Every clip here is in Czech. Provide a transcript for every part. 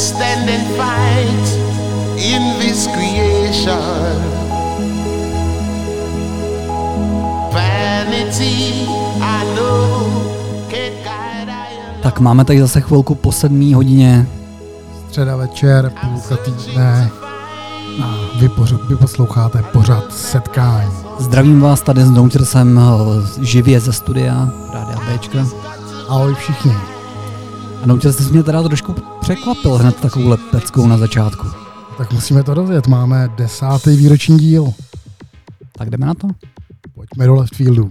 stand and fight in this creation. Vanity, I know, can't guide I. Tak máme tady zase chvilku po 7 hodině. Středa večer, půlka týdne. A vy posloucháte pořad Setkání. Zdravím vás tady s Noutrsem živě ze studia Rádia Bčka. Ahoj všichni. A Nouters, ty jsi mě teda trošku překvapil hned takovouhle peckou na začátku. Tak musíme to rozjet, máme 10. výroční díl. Tak jdeme na to? Pojďme do left fieldu.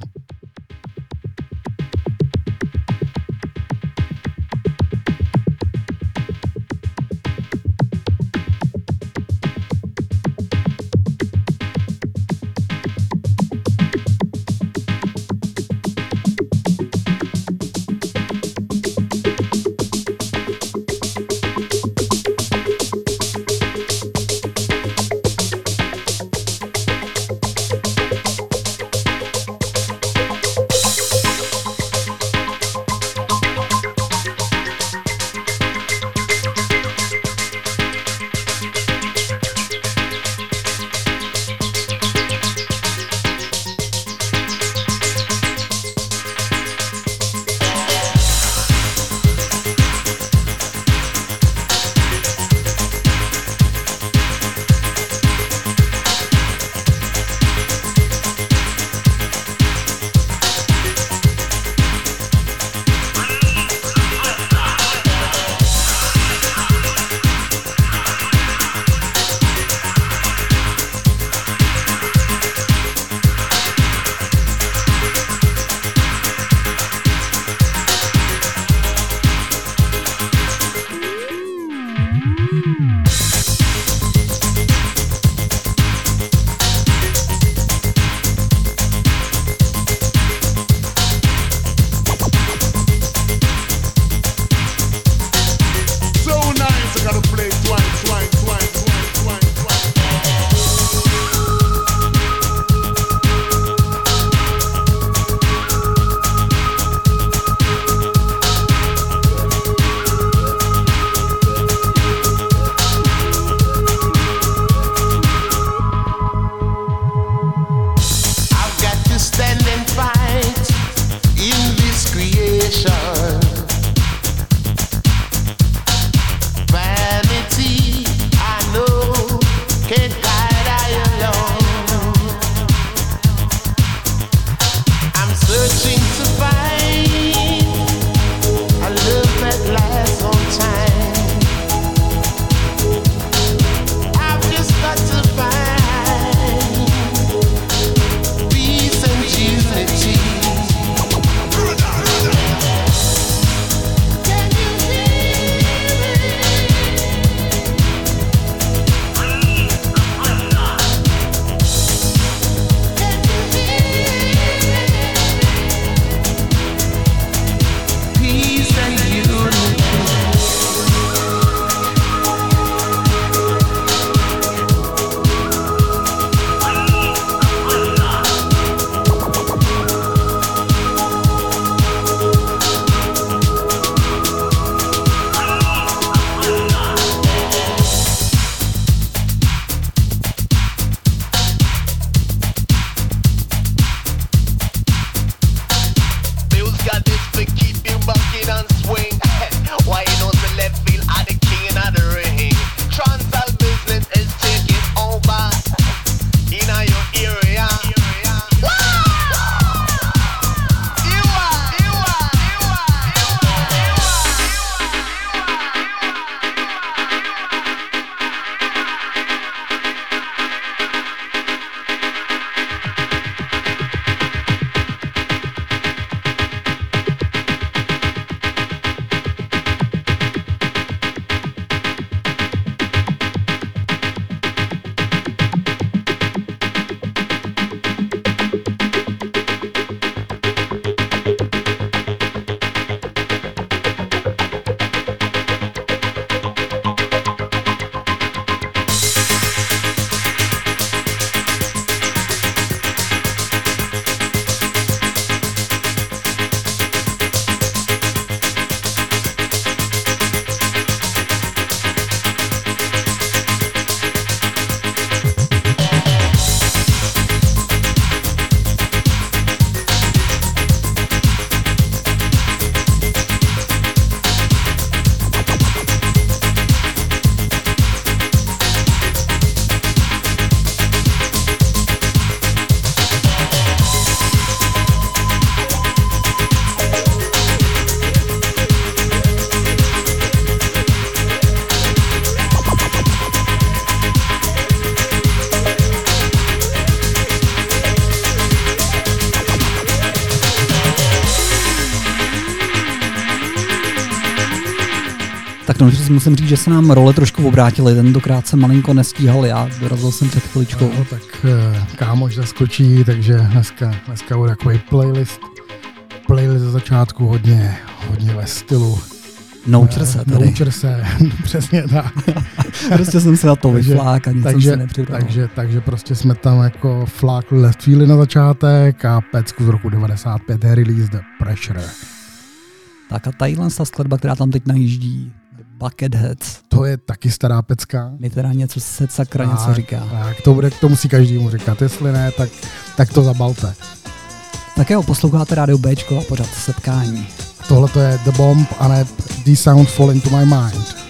Tak no, že musím říct, že se nám role trošku obrátily, tentokrát jsem malinko nestíhal já, dorazil jsem před chviličkou. No, tak kámoš zaskočí, takže dneska bude takový playlist ze začátku hodně ve stylu. Noučer se tady. Noučer se, přesně tak. Prostě jsem se na to vyflák a nic jsem se nepřipravil. Takže prostě jsme tam jako flákli Left Feely na začátek a pecku z roku 95 release The Pressure. Tak a tadyhle ta skladba, která tam teď najíždí, Bucketheads. To je taky stará pecka. Mi teda něco se sakra něco říká. Tak, to musí každému říkat, jestli ne, tak to zabalte. Tak jo, posloucháte Rádio Bčko a pořád Setkání. Tohle to je The Bomb a ne These Sounds Fall Into My Mind.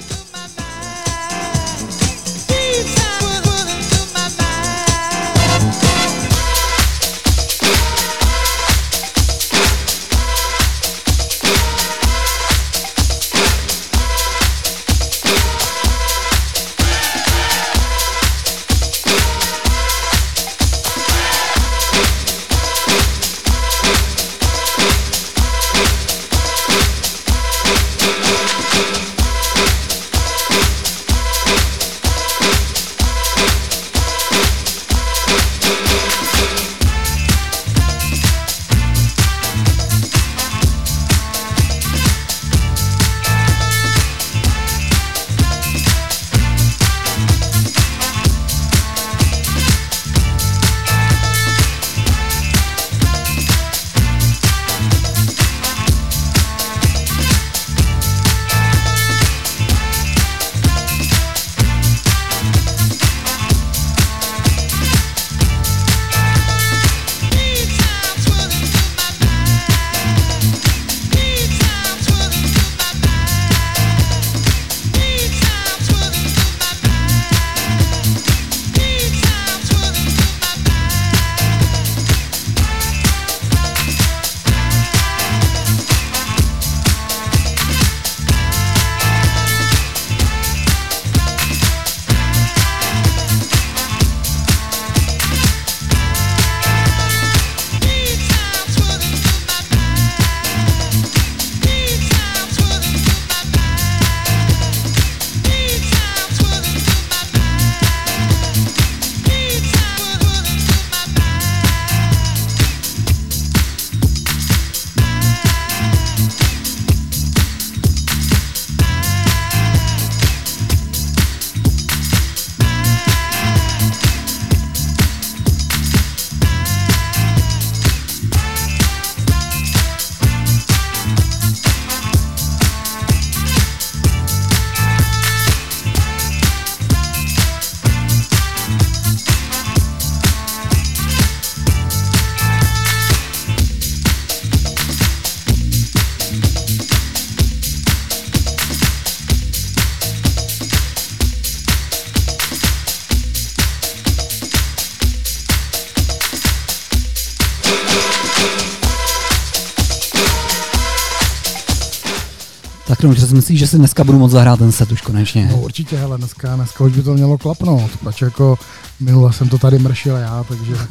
Tak no, že si myslíš, že si dneska budu moct zahrát ten set už konečně. No určitě, hele, dneska už by to mělo klapnout, pač jako minule jsem to tady mršil já,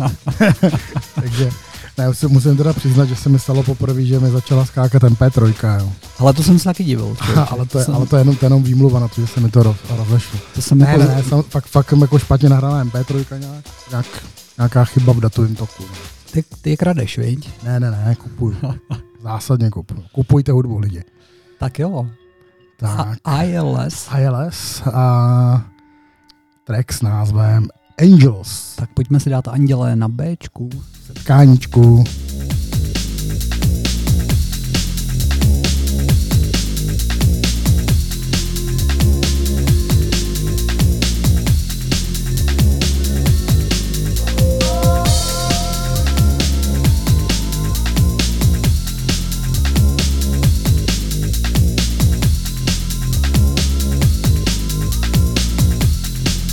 takže ne, musím teda přiznat, že se mi stalo poprvé, že mi začala skákat MP3, jo. Ale to jsem se taky divil. ale to je jenom výmluva na to, že se mi to rozešlo. To jsem fakt jako špatně nahraná MP3 nějaká chyba v datovém toku. No. Ty je kradeš, viď? Ne, kupuju. Zásadně kupuju. Kupujte hudbu, lidi. Tak jo. Tak. ILS a track s názvem Angels. Tak pojďme si dát Anděle na Bčku. Setkáníčku.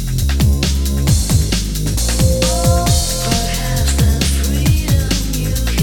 Perhaps the freedom you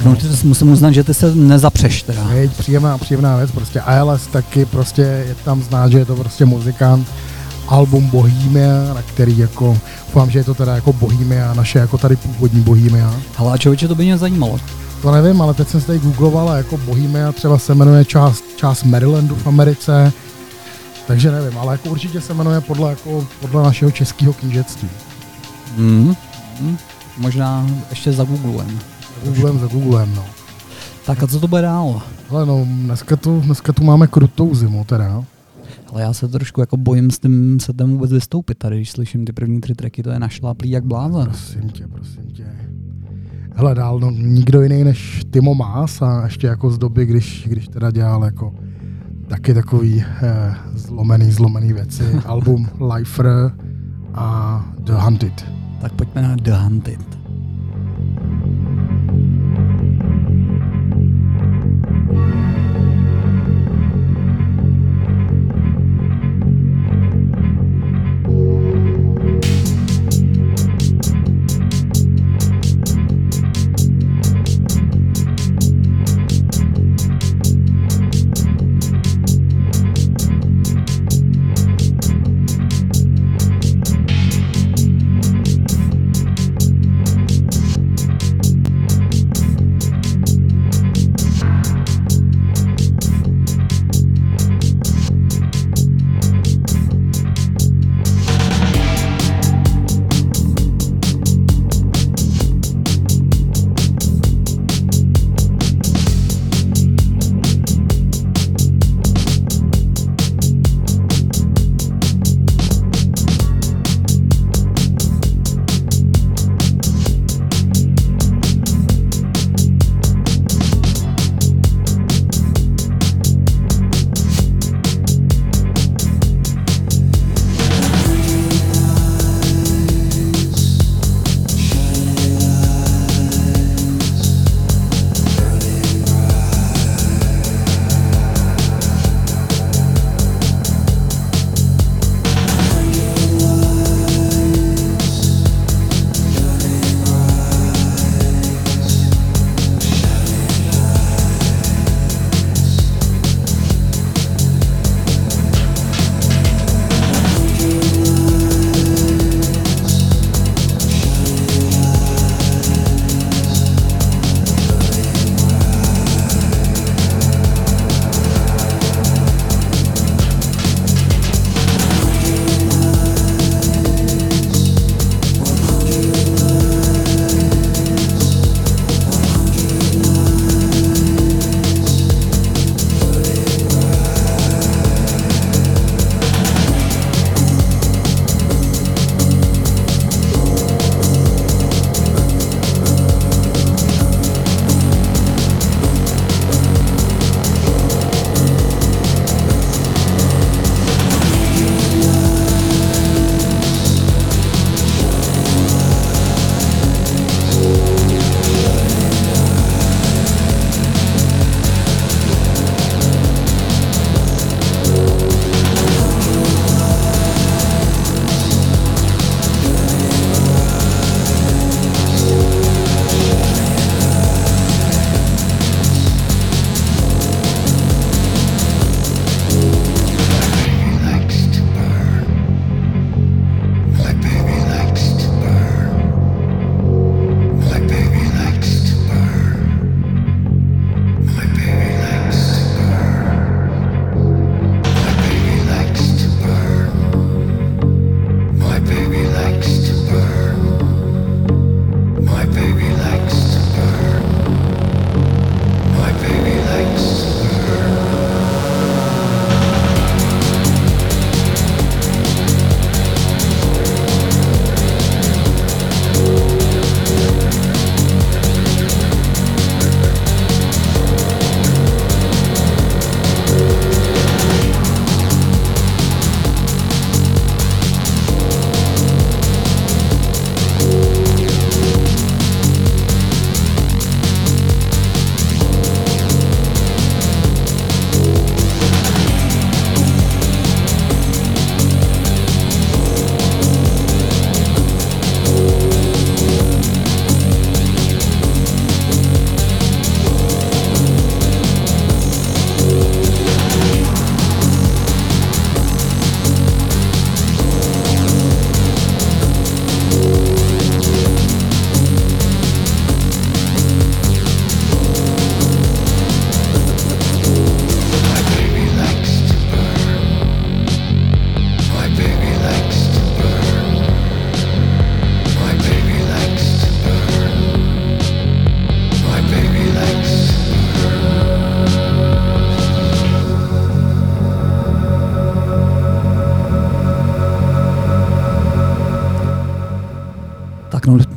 Tak no, musím uznat, že ty se nezapřeš teda. Je příjemná věc, prostě ALS taky prostě je tam znát, že je to prostě muzikant, album Bohemia, na který jako, doufám, že je to teda jako Bohemia, naše jako tady původní Bohemia. Hele, a člověče, to by mě zajímalo. To nevím, ale teď jsem se tady googloval a jako Bohemia třeba se jmenuje část Marylandu v Americe, takže nevím, ale jako určitě se jmenuje podle našeho českého knížectví. Možná ještě zagooglujeme. Zagooglujeme, no. Tak a co to bude dál? Ale no, dneska tu máme krutou zimu teda. Ale já se trošku jako bojím s tím setem vůbec vystoupit tady, když slyším ty první 3 tracky, to je našláplý jak blázen. Prosím tě. Hele, dál, no, nikdo jiný než Timo Maas a ještě jako z doby, když teda dělal jako taky takový zlomený věci. Album Lifer a The Hunted. Tak pojďme na The Hunted.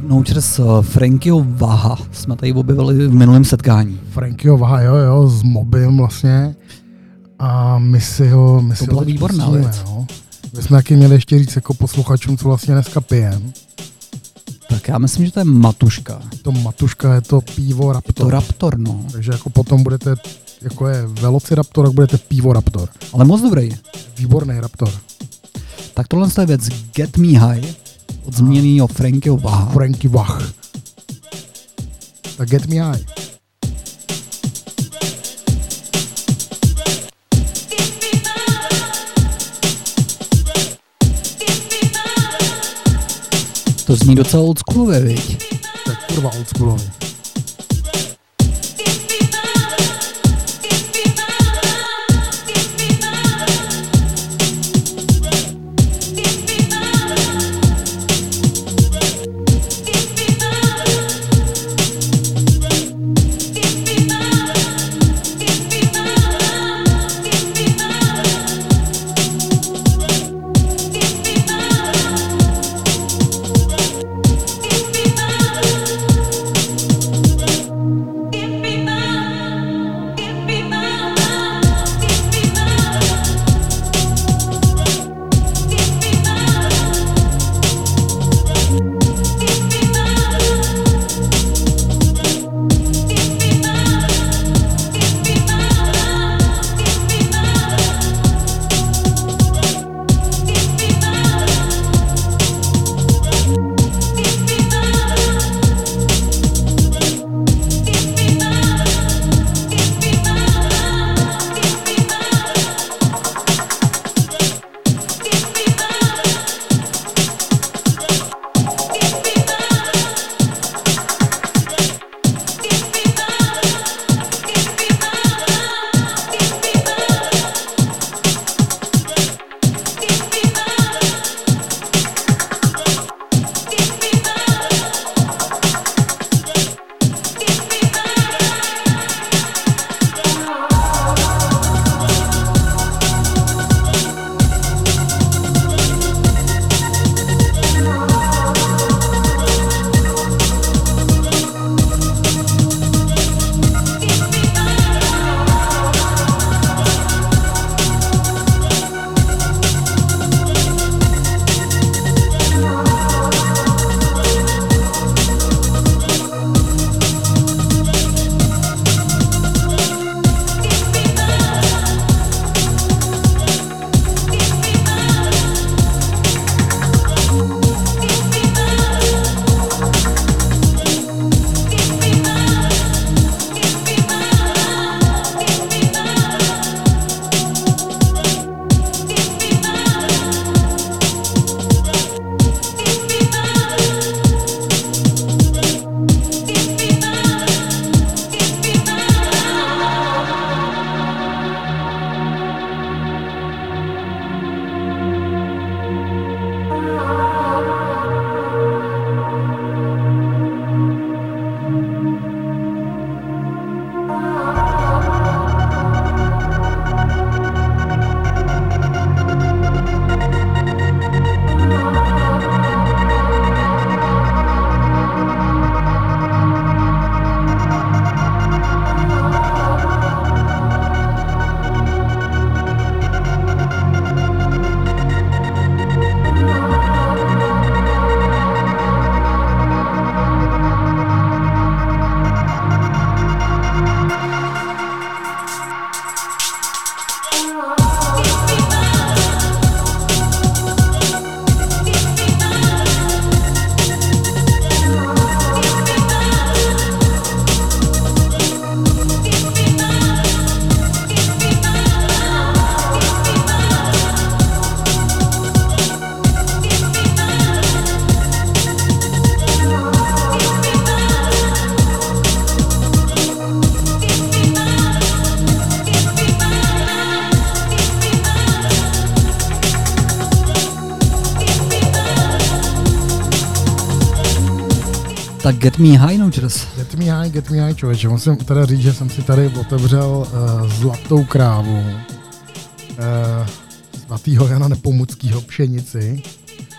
No přes Frankyho Vaha jsme tady objevili v minulém setkání. Frankyho Vaha, jo, s Mobim vlastně. A my si ho To byla výborná věc. No. My jsme taky měli ještě říct jako posluchačům, co vlastně dneska pijem. Tak já myslím, že to je Matuška. To Matuška je to pivo Raptor. To Raptor, no. Takže jako potom budete, jako je Velociraptor, tak budete pivo Raptor. Ale moc dobrý. Výborný Raptor. Tak tohle je věc Get Me High od zmíněného Frankyho Vaha. Franky Vach. Tak Get Me High. To zní docela oldschoolově, viď? To je kurva oldschoolový. Tak Get Me High, no čas. Get Me High, člověče. Musím teda říct, že jsem si tady otevřel zlatou krávu svatýho Jana Nepomuckýho Pšenici.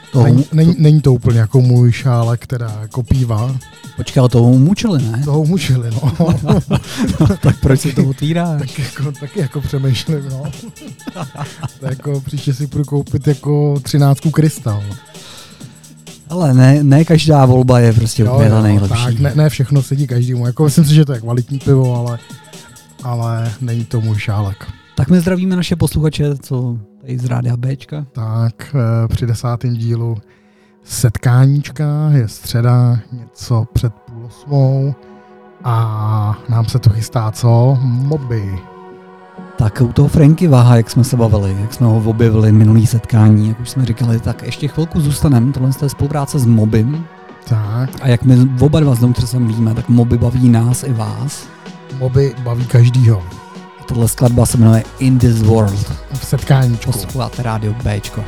Není to úplně jako můj šálek, která jako pívá. Počkej, ale toho mučili, ne? Toho mučili, no. Tak proč si to otvíráš? Taky jako přemýšlím, no. Tak jako příště si půjdu koupit jako 13 krystal. Ale ne každá volba je prostě úplně ta nejlepší. Tak, ne všechno sedí každému. Jako myslím si, že to je kvalitní pivo, ale není to můj šálek. Tak my zdravíme naše posluchače, co tady z Rádia Bčka. Tak při 10. dílu setkáníčka, je středa, něco před 7:30 a nám se to chystá co? Moby. Tak u toho Franky Váha, jak jsme se bavili, jak jsme ho objevili minulý setkání, jak už jsme říkali, tak ještě chvilku zůstaneme, tohle je spolupráce s Mobym. Tak. A jak my oba dva znovu sem víme, tak Moby baví nás i vás. Moby baví každýho. Tohle skladba se jmenuje In This World. V setkáníčku. Posloucháte Rádio Bčko.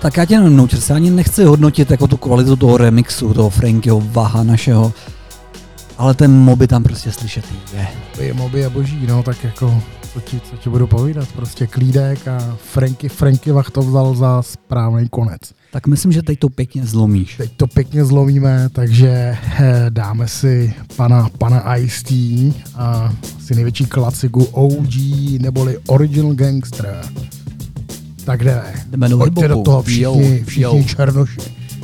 Tak já tě nenoučil, se ani nechci hodnotit jako tu kvalitu toho remixu, toho Frankyho Vaha našeho, ale ten Moby tam prostě slyšet je. Moby je boží, no tak jako, co ti budu povídat, prostě klídek a Franky Vah to vzal za správný konec. Tak myslím, že teď to pěkně zlomíš. Teď to pěkně zlomíme, takže dáme si pana Ice-T a asi největší klasiku OG neboli Original Gangster. Tak jdeme. Pojďte do toho všichni černoši.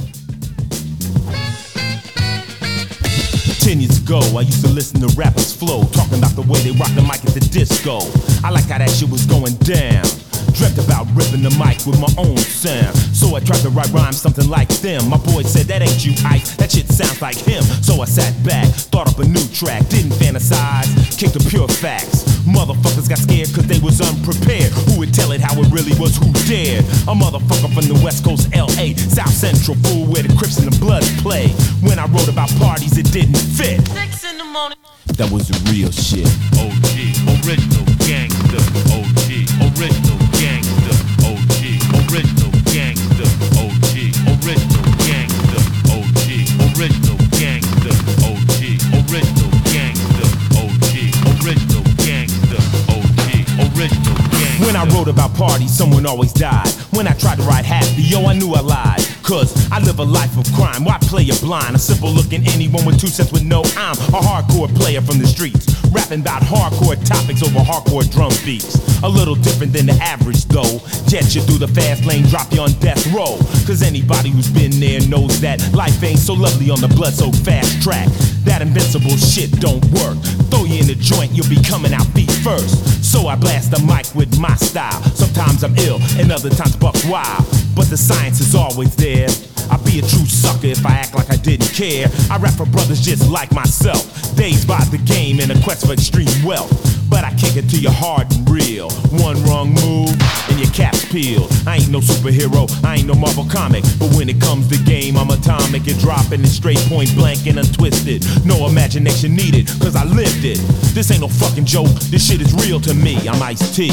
10 years ago, I used to listen to rappers flow, talking about the way they rock the mic at the disco. I like how that shit was going down. Dreamt about ripping the mic with my own sound. So I tried to write rhymes something like them. My boy said, that ain't you, Ice, that shit sounds like him. So I sat back, thought up a new track, didn't fantasize, kicked the pure facts. Motherfuckers got scared cause they was unprepared. Who would tell it how it really was, who dared? A motherfucker from the West Coast, LA, South Central, fool, where the Crips and the Bloods play. When I wrote about parties, it didn't fit. 6 in the morning. That was the real shit. OG, original gangster. OG, original gangster. OG, original gangster. OG, original gangster. OG, original gangster. OG, original gangster. OG, original gangster. OG, original gangster. When I wrote about parties, someone always died. When I tried to write happy, yo, I knew I lied. Cause I live a life of crime, why play a blind? A simple looking anyone with 2 cents would know I'm a hardcore player from the streets, rapping about hardcore topics over hardcore drum beats. A little different than the average though. Jet you through the fast lane, drop you on death row. Cause anybody who's been there knows that life ain't so lovely on the blood so fast track. That invincible shit don't work. Throw you in the joint, you'll be coming out feet first. So I blast the mic with my style. Sometimes I'm ill and other times buck wild, but the science is always there. I'd be a true sucker if I act like I didn't care. I rap for brothers just like myself, dazed by the game in a quest for extreme wealth. But I kick it to you hard and real. One wrong move and your cap's peeled. I ain't no superhero, I ain't no Marvel comic, but when it comes to game, I'm atomic and dropping it straight point blank and untwisted. No imagination needed, cause I lived it. This ain't no fucking joke, this shit is real to me. I'm Ice-T,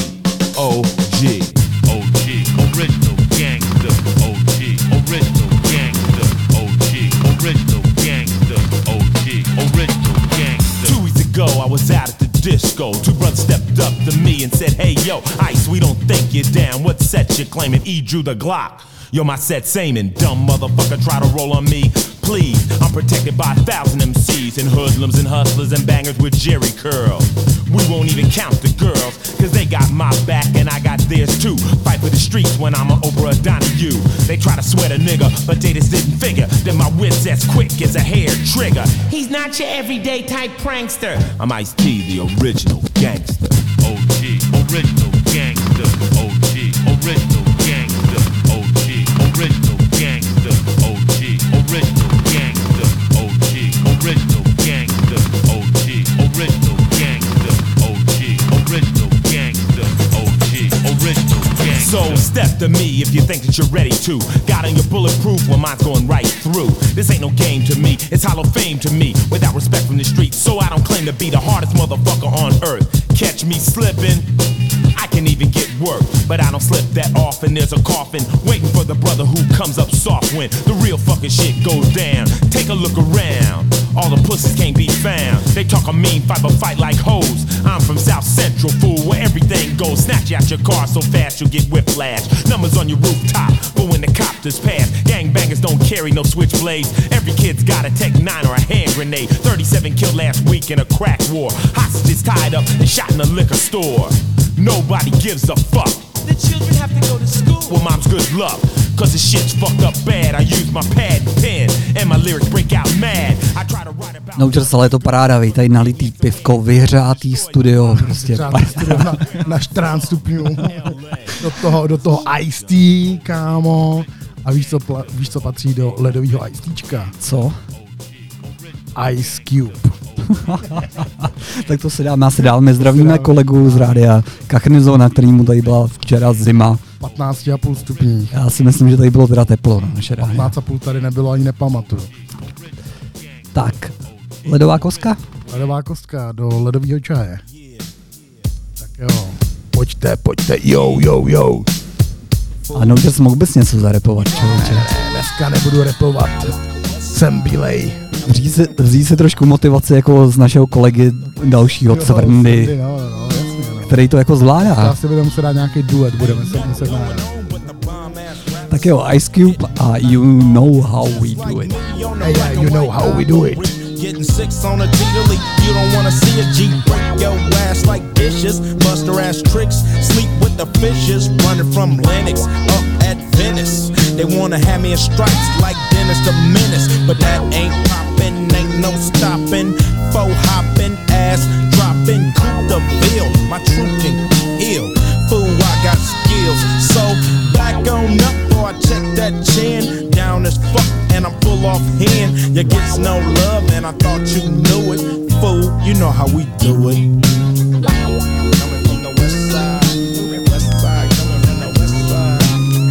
OG. OG, original gangster. OG, original gangster. OG, original gangster. OG, original gangster. 2 weeks ago, I was out at the disco. 2 brothers stepped up to me and said, hey yo, Ice, we don't think you're down. What set you claiming? E drew the Glock. Yo, my set same and dumb motherfucker try to roll on me. Please, I'm protected by 1,000 MCs and hoodlums and hustlers and bangers with Jerry curls. We won't even count the girls, cause they got my back and I got theirs too. Fight for the streets when I'm an Oprah Donahue. They try to sweat a nigga, but they just didn't figure that my wit's as quick as a hair trigger. He's not your everyday type prankster. I'm Ice-T, the original gangster. OG, original gangster. OG, original gangster. OG, original gangster. OG, original gangster. OG, original gangster. OG, original gangster. OG, original gangster. OG, original gangster. So step to me if you think that you're ready to. Got on your bulletproof when mine's going right through. This ain't no game to me, it's hollow fame to me. Without respect from the streets, so I don't claim to be the hardest motherfucker on earth. Catch me slipping, I can even get work, but I don't slip that often. There's a coffin waiting for the brother who comes up soft when the real fucking shit goes down. Take a look around, all the pussies can't be found. They talk a mean fight but fight like hoes. I'm from South Central, fool, where everything goes. Snatch you out your car so fast you'll get whiplash. Numbers on your rooftop, but when the copters pass, gangbangers don't carry no switchblades. Every kid's got a Tech 9 or a hand grenade. 37 killed last week in a crack war. Hostages tied up and shot in a liquor store. Nobody gives a fuck. The children have to go to school. Well, mom's good luck, cause the shit's fucked up bad. I use my pad and pen, and my lyrics break out mad. I try to write about... Naučil se, ale je to paráda, vej, tady nalitý pivko, vyhřátý studio, prostě. Na 14 stupňů. do toho Ice-T, kámo. A víš, co patří do ledového Ice-Tčka? Co? Ice Cube. Tak to se dáme asi dál. My zdravíme kolegu z rádia Kachnizona, kterýmu tady byla včera zima. 15,5 stupní. Já si myslím, že tady bylo teda teplo na naše rádio. 15,5 tady nebylo, ani nepamatuju. Tak, ledová kostka? Ledová kostka do ledového čaje. Tak jo, pojďte, yo. A Nouters mohl bys něco zarepovat, člověče. Ne, dneska nebudu repovat. Jsem bílej. Vzít si trošku motivaci jako z našeho kolegy dalšího Cvrndy, No, jasně, no. který to jako zvládá. Asi budeme muset dát nějaký duet, budeme se muset nahrát. Tak jo, Ice Cube a You Know How We Do It. Hey, yeah, you know how we do it. Getting six on a G to leak. You don't wanna see a G break your ass like dishes. Buster ass tricks, sleep with the fishes. Running from Lennox up at Venice. They wanna have me in stripes like Dennis the Menace. But that ain't poppin', ain't no stopping. Faux hopping, ass dropping, coup the bill. My truth can heal. Fool, I got skills. So back on up, boy, check that chin. Down as fuck, and I'm full off hand. You gets no love, and I thought you knew it. Fool, you know how we do it. Coming from the west side, coming from the west side.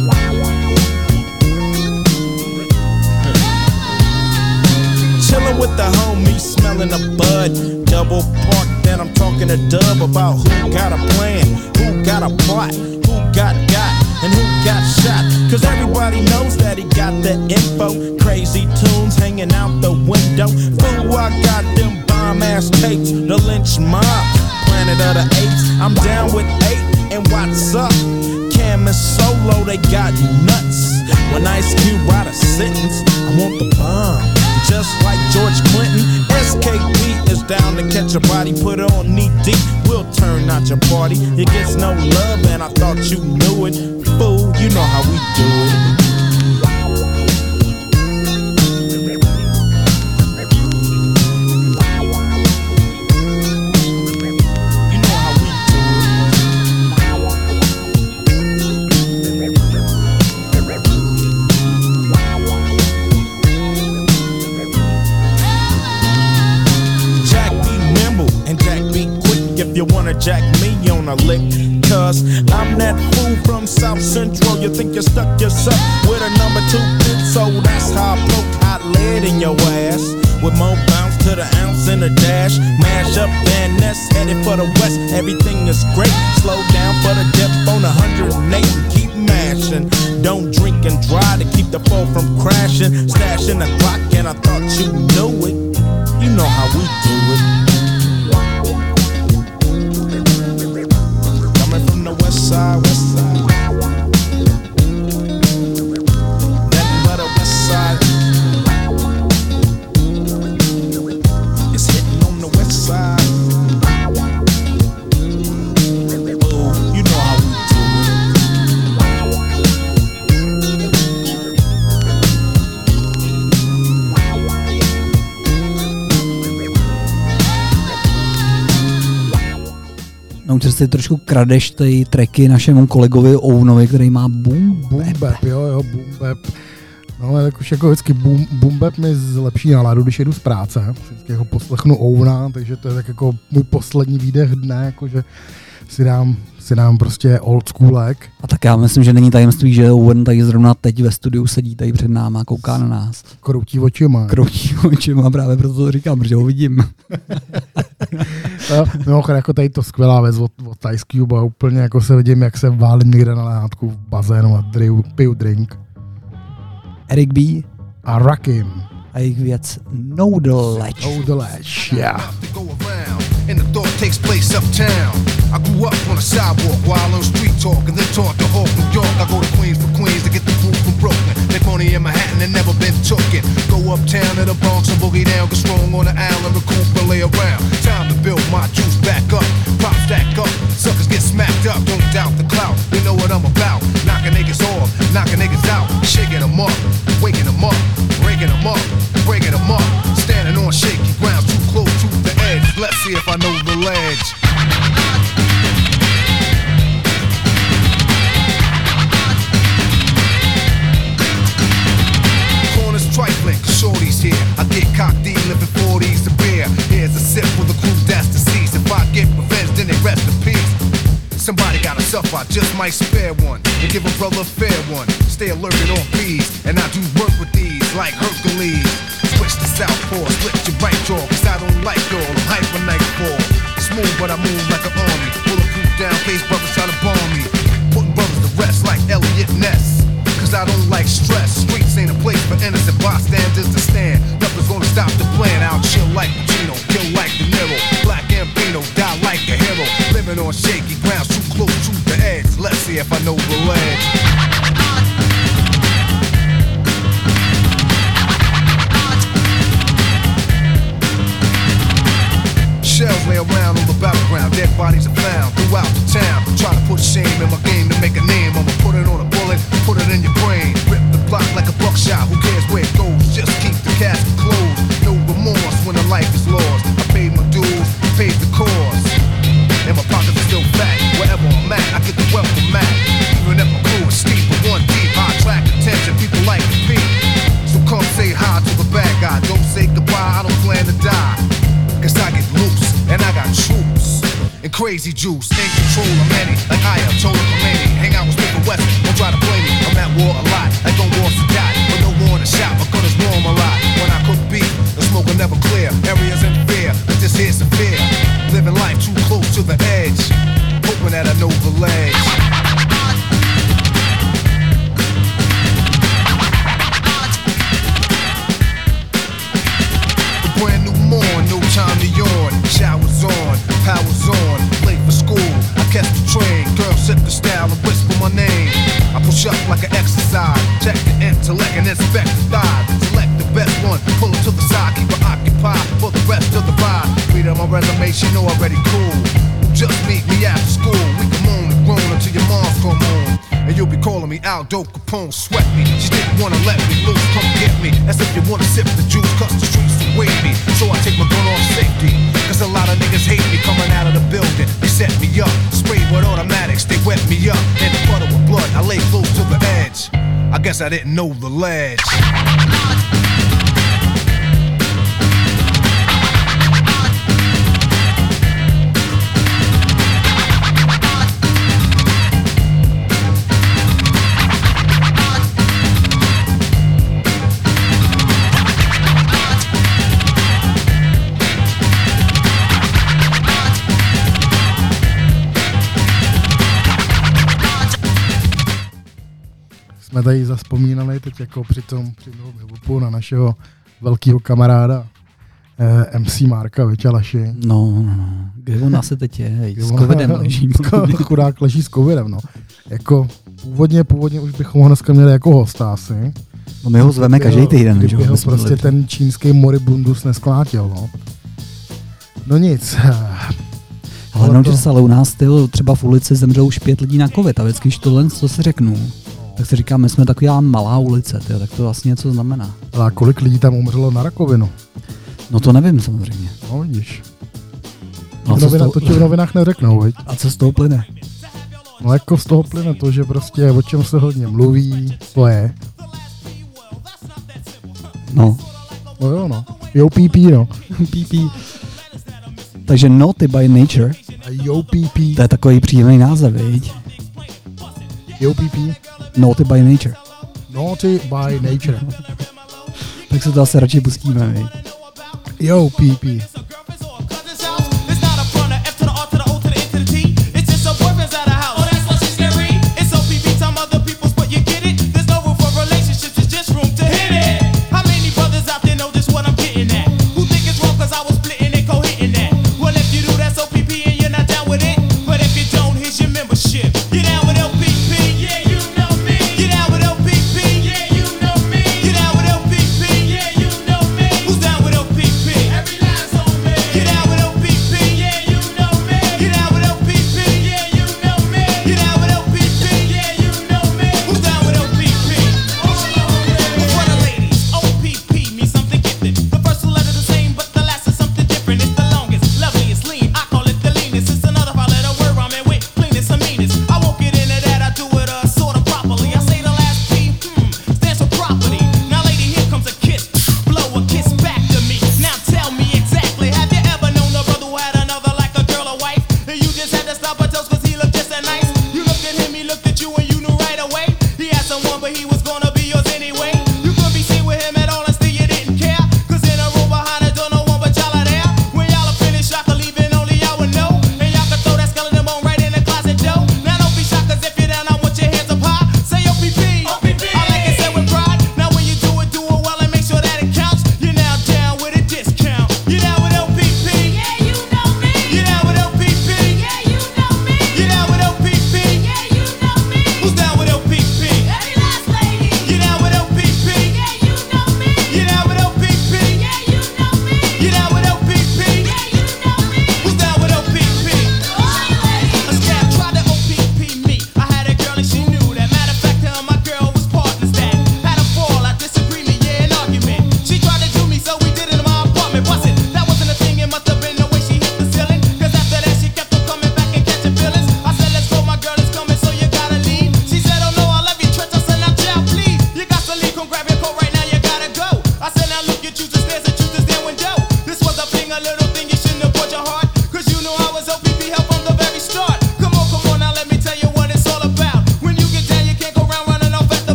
Chillin' with the homies, smelling a bud. Double park, then I'm talking to Dub about who got a plan, who got a plot, who got, and who got shot. Cause everybody knows that he got the info. Crazy tunes hanging out the window. Fool, I got them bomb ass tapes. The lynch mob, Planet of the Apes. I'm down with 8, and what's up? Cam and Solo, they got nuts. When Ice Cube write a sentence, I want the bomb. Just like George Clinton, SKP is down to catch a body, put it on knee deep, we'll turn out your party. It gets no love and I thought you knew it. Fool, you know how we do it. You wanna jack me on a lick, cause I'm that fool from South Central. You think you stuck yourself with a number 2 pin, so that's how I poke hot lead in your ass. With more bounce to the ounce in a dash. Mash up Van Ness, headed for the west. Everything is great, slow down for the dip on 108 and keep mashing. Don't drink and drive to keep the foe from crashing. Stashing the clock and I thought you knew it. You know how we do it. Side, west side. Nothing but a west side. It's hitting on the west side. Oh, you know how we do Nouters si trošku kradeš ty tracky našemu kolegovi Ounovi, který má boom bap. Jo, boom bap. No, ale už jako vždycky boom bap mi zlepší náladu, když jedu z práce. Vždycky jako poslechnu Ouna, takže to je tak jako můj poslední výdech dne, jakože si dám prostě old schoolek. A tak já myslím, že není tajemství, že Owen tady zrovna teď ve studiu sedí tady před náma a kouká na nás. Kroutí očima, právě proto to říkám, protože ho vidím. Mimochodem, jako tady to skvělá věc od Ice Cube a úplně jako se vidím, jak se válím někde na lehátku v bazénu a piju drink. Eric B. A Rakim. A jejich věc No The Ledge. No The Ledge, yeah. And the thought takes place uptown. I grew up on a sidewalk while on street talk and then taught to Hawk, New York. I go to Queens for Queens to get the food from Brooklyn. Make money in Manhattan and never been tooken. Go uptown to the Bronx and boogie down, get strong on the island, recoup and lay around. Time to build my juice back up, pop stack up, suckers get smacked up. Don't doubt the clout, you know what I'm about. Knocking niggas off, knocking niggas out, shaking them up, waking them up, breaking them up, breaking them up. Standing on shaky ground, too close to the edge. Let's see if I know the ledge. Corners trifling, shorty's here. I get cocked, living 40s to beer. Here's a sip for the crew that's deceased. If I get revenge, then they rest in peace. Somebody got a suffer, I just might spare one and give a brother a fair one. Stay alerted on bees, and I do work with these like Hercules. Switch to southpaw, split your right jaw, cause I don't like y'all, I'm hyper nightfall. Smooth but I move like an army, bulletproof down, case brothers try to bomb me. Putting brothers to rest like Elliot Ness. Cause I don't like stress. Streets ain't a place for innocent bystanders to stand. Nothing's gonna stop the plan. I'll chill like Pacino, kill like De Niro. Black Gambino, die like a hero. Living on shaky grounds, too close to the edge. Let's see if I know the ledge. Shells lay around on the battleground, dead bodies are found throughout the town. Try to put shame in my game to make a name. I'ma put it on a bullet, put it in your brain. Rip the block like a buckshot, who cares where it goes? Just keep the casket closed. No remorse when a life is lost. I paid my dues, paid the cost. And my pockets are still fat. Wherever I'm at, I get the wealth from Mac. Even if my crew is steep but one deep, I attract attention, people like to be. So come say hi to the bad guy. Don't say goodbye, I don't plan to die. Cause I get loose, and I got troops and crazy juice, in control of many, like I am told Khomeini. Hang out with Smith West, don't try to blame me. I'm at war a lot, like on war to die, but no war to shot, my gun is warm a lot. When I cook beef, the smoke will never clear. Areas in fear, but this here's severe. Living life too close to the edge, hoping that I know the ledge. Brand new morn, no time to yawn. Showers on, powers on. Late for school, I catch the train. Girl, sip the style and whisper my name. I push up like an exercise. Check the intellect and inspect the thighs. Select the best one, pull it to the side. Keep her occupied for the rest of the ride. Read on my resume, she know already cool. Just meet me after school. We can moan and groan until your mom's come home. And you'll be calling me Aldo Capone, sweat me. She didn't wanna let me loose, come get me. As if you wanna sip the juice, cause the streets await me. So I take my gun off safety. Cause a lot of niggas hate me coming out of the building. They set me up, sprayed with automatics, they wet me up. And the butter with blood, I lay close to the edge. I guess I didn't know the ledge. Jsme tady zazpomínali teď jako při tom hip-hopu na našeho velkého kamaráda MC Marka Vyťalaši. No, kde on asi teď je? S covidem leží. Chudák leží s covidem, no. Jako původně už bychom ho dneska měli jako hosta asi. No my ho zveme každý týden. Kdyby ho prostě ten čínský moribundus nesklátil, no. No nic. Ale no, že ale u nás třeba v ulici zemřelo už 5 lidí na covid a vždycky, když tohle, co si řeknu, tak si říkám, my jsme taková malá ulice, tyjo, tak to vlastně něco znamená. A kolik lidí tam umřelo na rakovinu? No to nevím samozřejmě. No vidíš. No, To ti v novinách neřeknou, viď? A co z toho plyne? No jako z toho plyne to, že prostě o čem se hodně mluví, to je. No. No jo, no. Yo PP, no. PP. Takže Naughty by Nature. A Yo PP. To je takový příjemný název, viď? Yo PP. Naughty by Nature. Naughty by Nature. Tak se to asi radši pustíme, viď? Yo PP.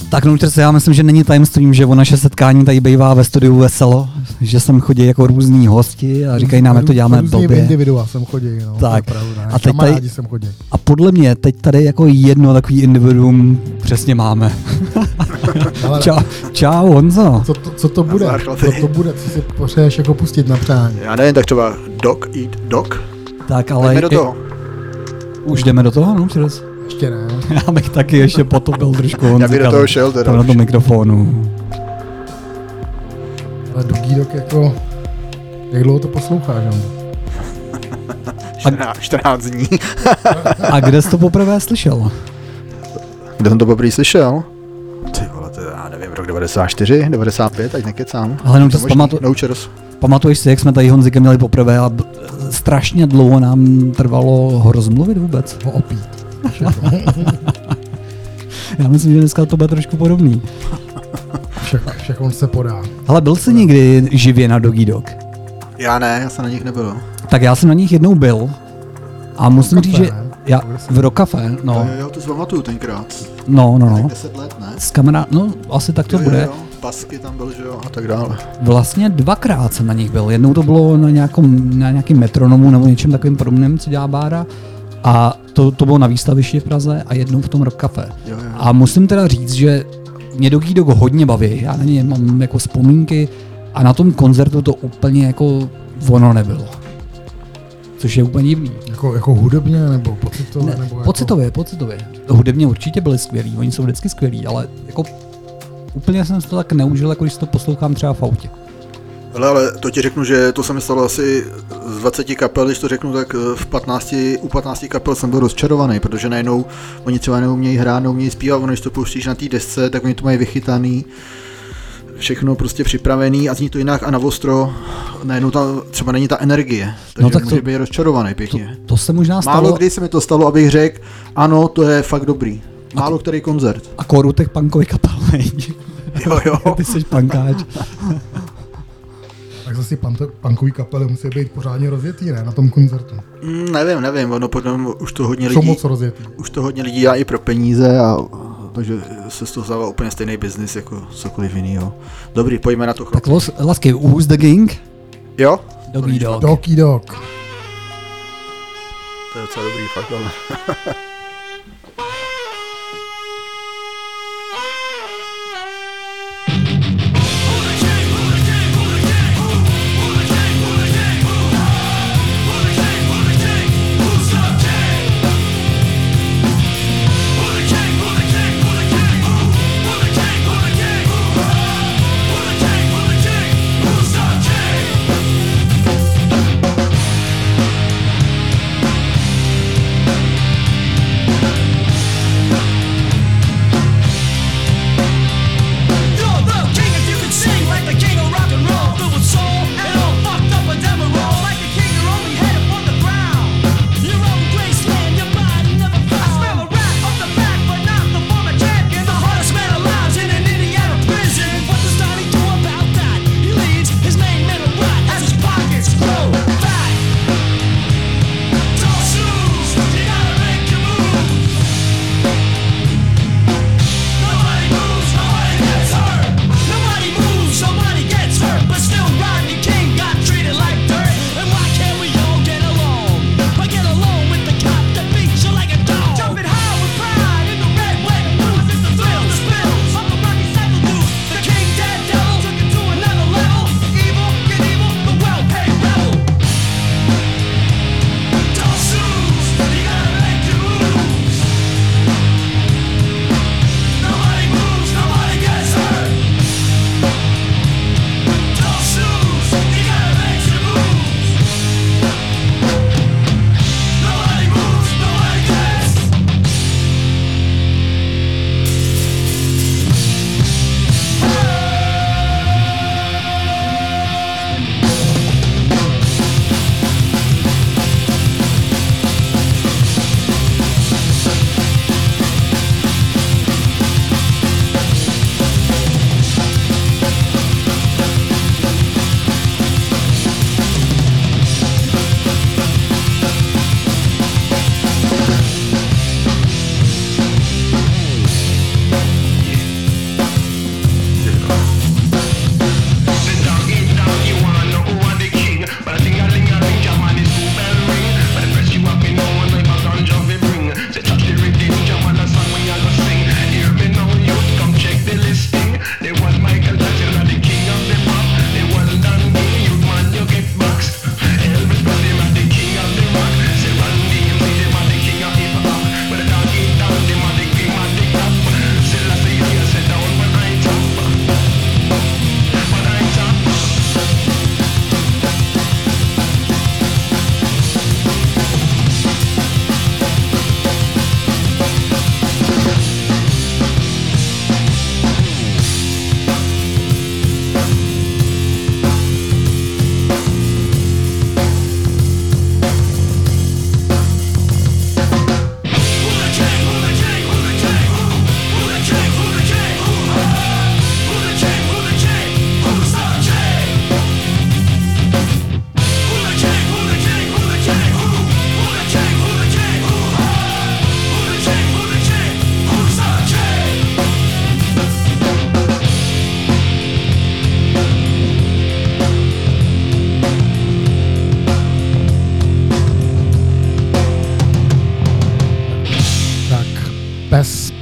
Tak no, já myslím, že není tajemstvím, že o naše setkání tady bývá ve studiu veselo, že sem chodí jako různí hosti a říkají nám, jak to děláme blbě. Individua sem chodí, no. Tak. To je pravda, A teď tady, sem chodí. a podle mě teď tady jako jedno takový individuum přesně máme. Čau Honzo. Co to bude? Co si potřebuješ jako pustit na přání? Já nevím, tak třeba Dog Eat Dog. Tak ale... Jdeme do toho. Už jdeme do toho, no přes. Ještě ne. Já bych taky ještě potopil trošku Honzika. Já bych do toho šel teda. Na tom mikrofonu. Ale Doggy Dog jako... Jak dlouho to posloucháš, jo? 14 dní. A kde jsi to poprvé slyšel? Kde jsem to poprvé slyšel? Ty vole, to já nevím, rok 94, 95, ať nekecám. Ale no, pamatuješ si, jak jsme tady Honzikem měli poprvé a strašně dlouho nám trvalo ho rozmluvit vůbec. Ho opít. Já myslím, že dneska to bude trošku podobný. Však on se podá. Ale byl jsi někdy živě na Doggy Dog? Já ne, já jsem na nich nebyl. Tak já jsem na nich jednou byl a musím říct, že já v Rock Café, no. Jo, to si pamatuju tenkrát. No. 10 let, ne? S kamarád, no asi tak to bude. Jo, Pasky tam byl, že jo, a tak dále. Vlastně 2krát jsem na nich byl. Jednou to bylo na nějakým metronomu nebo něčem takovým podobným, co dělá Bára. A to bylo na výstavišti v Praze a jednou v tom Rock Café. Jo. A musím teda říct, že mě Doggy Dog hodně baví. Já na ně mám jako vzpomínky a na tom koncertu to úplně jako ono nebylo. Což je úplně divný. Jako hudebně nebo pocitově? Ne, nebo pocitově. Hudebně určitě byli skvělí, oni jsou vždycky skvělí, ale jako úplně jsem si to tak neužil, jako když to poslouchám třeba v autě. Ale to ti řeknu, že to se mi stalo asi z 20 kapel, když to řeknu, tak u 15 kapel jsem byl rozčarovaný, protože najednou oni třeba neumějí hrát, neumějí zpívat, ono když to pustíš na té desce, tak oni to mají vychytaný, všechno prostě připravený a zní to jinak a na ostro najednou tam třeba není ta energie, takže no tak může být rozčarovaný pěkně. To se možná stalo. Málo kdy se mi to stalo, abych řekl, ano, to je fakt dobrý. Málo který koncert. A kóru těch punkových kapel, Jo. Ty jsi punkáč. Tak zase punkový kapely musí být pořádně rozjetý, ne, na tom koncertu? Nevím, ono potom už to hodně lidí... Jsou moc rozjetý. Už to hodně lidí dělá i pro peníze a takže se z toho stává úplně stejný biznis jako cokoliv jinýho. Dobrý, pojďme na to chlapci. Tak lasky, Who's the Gang? Jo? Doggy Dog. Doggy Dog. To je docela dobrý, fakt, ale...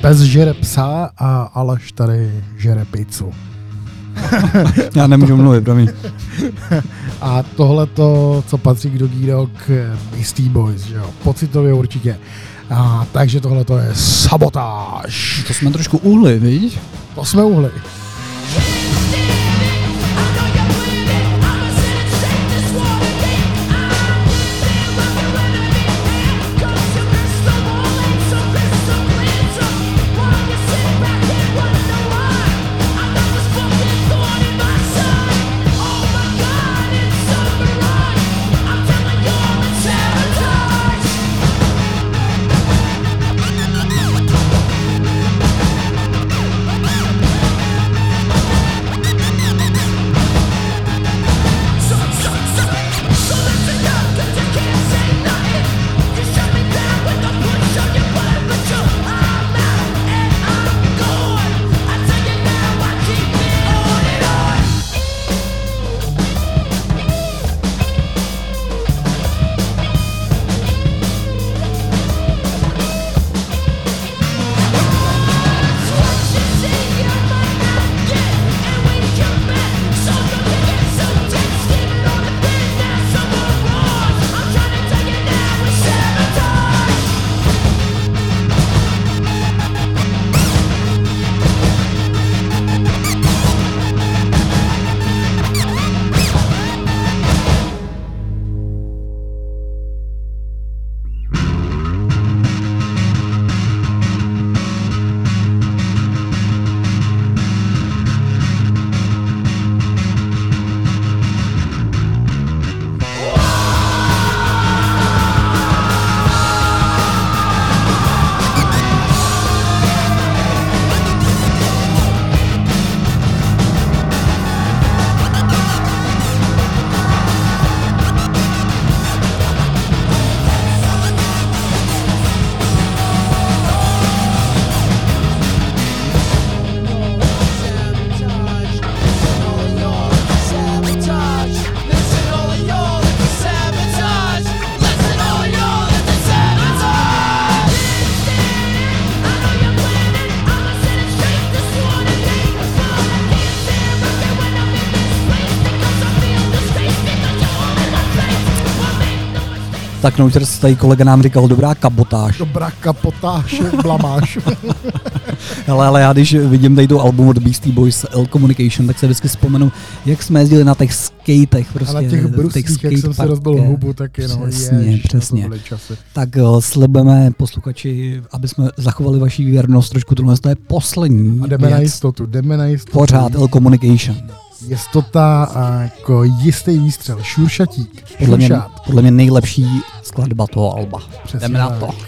Pes žere psa a Aleš tady žere pizzu. Já nemůžu mluvit, promiň. A tohleto, co patří k Doggy Dog, Beastie Boys, že jo, pocitově určitě. A takže tohleto je Sabotáž. To jsme trošku uhli, víš? To jsme uhli. Tak Nouters, tady kolega nám říkal dobrá kabotáž. Dobrá kapotáž, blamáš. Hele, ale já když vidím tady tu album od Beastie Boys L Communication, tak se vždycky vzpomenu, jak jsme jezdili na těch skatech. Prostě, ale těch bruských, jak jsem si rozbil hubu, tak jenom Přesně. Tak slibeme posluchači, aby jsme zachovali vaši věrnost trošku, tohle to je poslední. A jdeme na jistotu. Pořád L Communication. Jistota jako jistý výstřel, šuršatík. Podle mě nejlepší skladba toho alba. Přesně jdeme na to.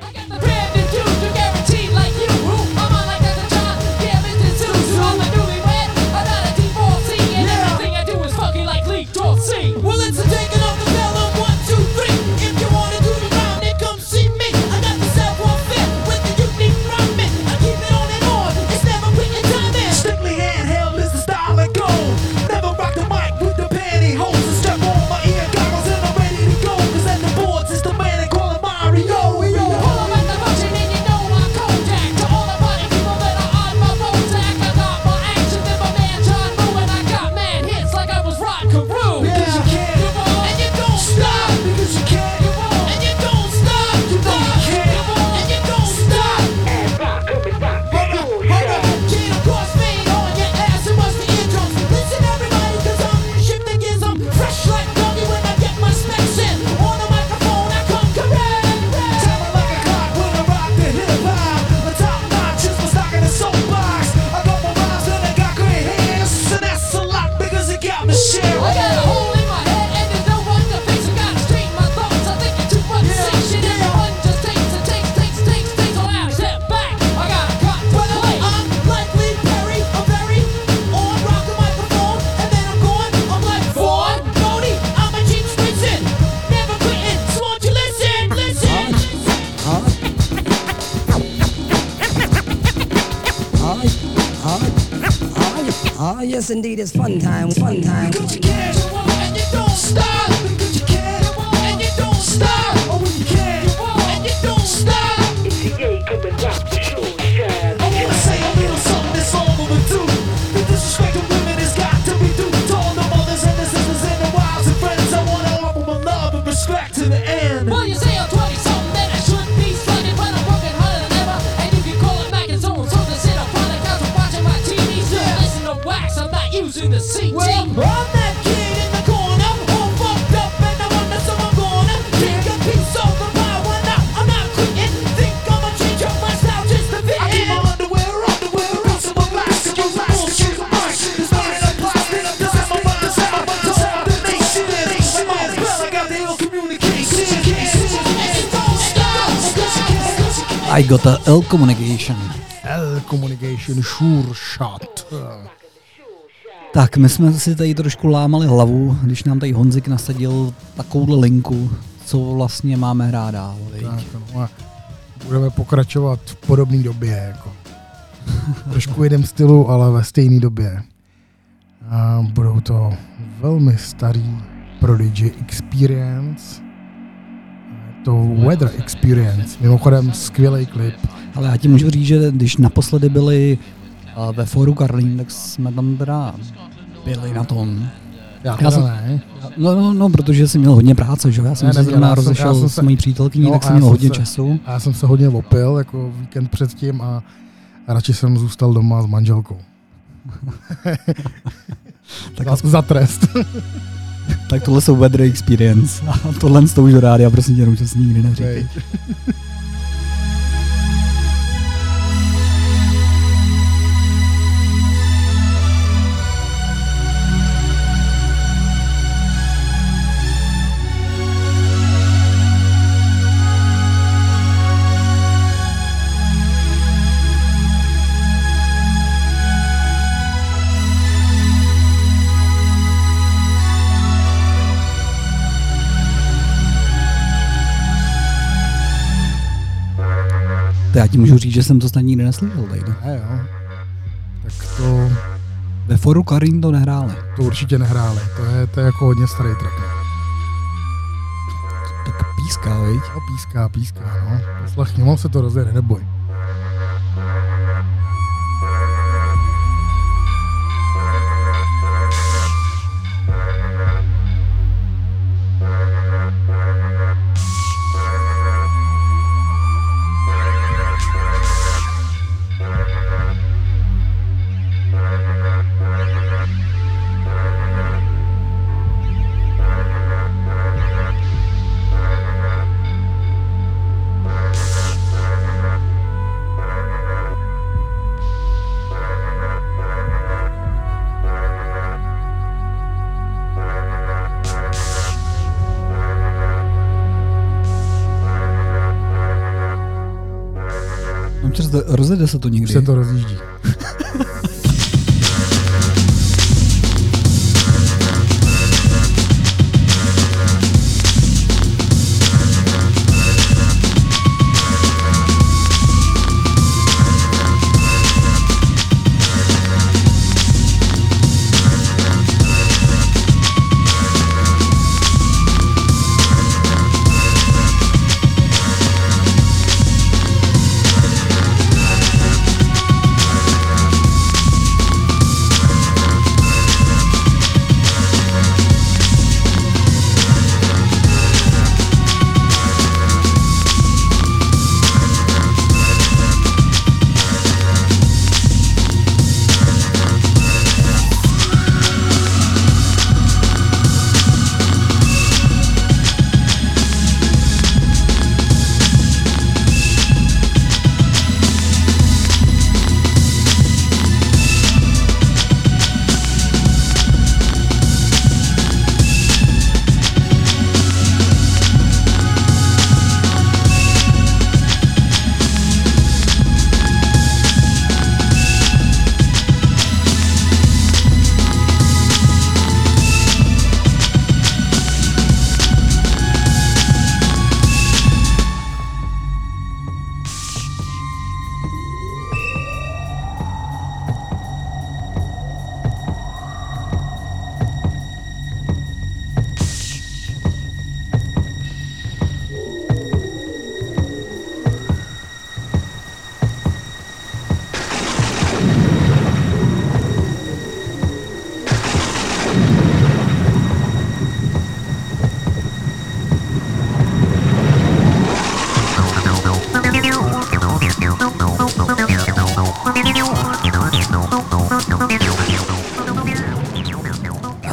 Yes, indeed, it's fun time, fun time. Because you can, and you don't stop. Because you can, and you don't stop. Oh, when you can, and you don't stop. It's the A coming back to show shine. the CT. Well, I'm that kid in the corner, all fucked up, and I wonder someone gonna take a piece of the pie. Well, now I'm not quitting. Think I'ma change up my style just to fit in. I keep my underwear, piece of my plastic, use my bullshit, it's burning up plastic, this is my mother's house, to all the nation. I'm all spell, I got the ill communication. I got a L Communication. L Communication Sure Shot. Tak, my jsme si tady trošku lámali hlavu, když nám tady Honzik nasadil takovouhle linku, co vlastně máme hrát dál. Tak, no, a budeme pokračovat v podobné době. Jako. Trošku jiném stylu, ale ve stejné době. A budou to velmi starý Prodigy Experience. To Weather Experience. Mimochodem skvělý klip. Ale já ti můžu říct, že když naposledy byli ve Fóru Karlín, tak jsme tam teda byli na tom. Já jsem, ne. No, protože jsem měl hodně práce, že? Já jsem se zrovna rozešel s mojí přítelkyní, tak jsem měl hodně času. A já jsem se hodně opil, jako víkend předtím a radši jsem zůstal doma s manželkou. za trest. Tak tohle jsou Weather Experience a tohle s tou už rádia, prosím tě, že si nikdy neříkej. Já ti můžu říct, že jsem to snad nikdy neslyšel tady. Jo. Tak to... Ve Fóru Karlín to nehráli. To určitě nehráli. To je jako hodně starý track. Tak píská, viď? No, píská, no. Poslechni, mám se to rozjede, neboj. Rozjede se to někdy. Už se to rozjíždí.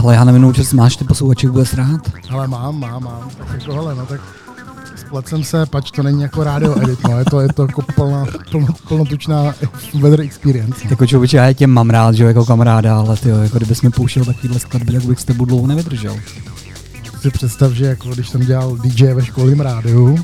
Ale já nevím, že máš ty posluchače vůbec rád. Ale mám. Tak jako hele, no tak splet jsem se, pač to není jako rádio edit, no, je to jako plnotučná weather experience. No. Jako člověče, já tě mám rád, že jo, jako kamaráda, ale tyjo, jako kdybys mi pouštěl takovýhle skladby, tak bych s tebou dlouho nevydržel. Si představ, že jako když jsem dělal DJ ve školním rádiu,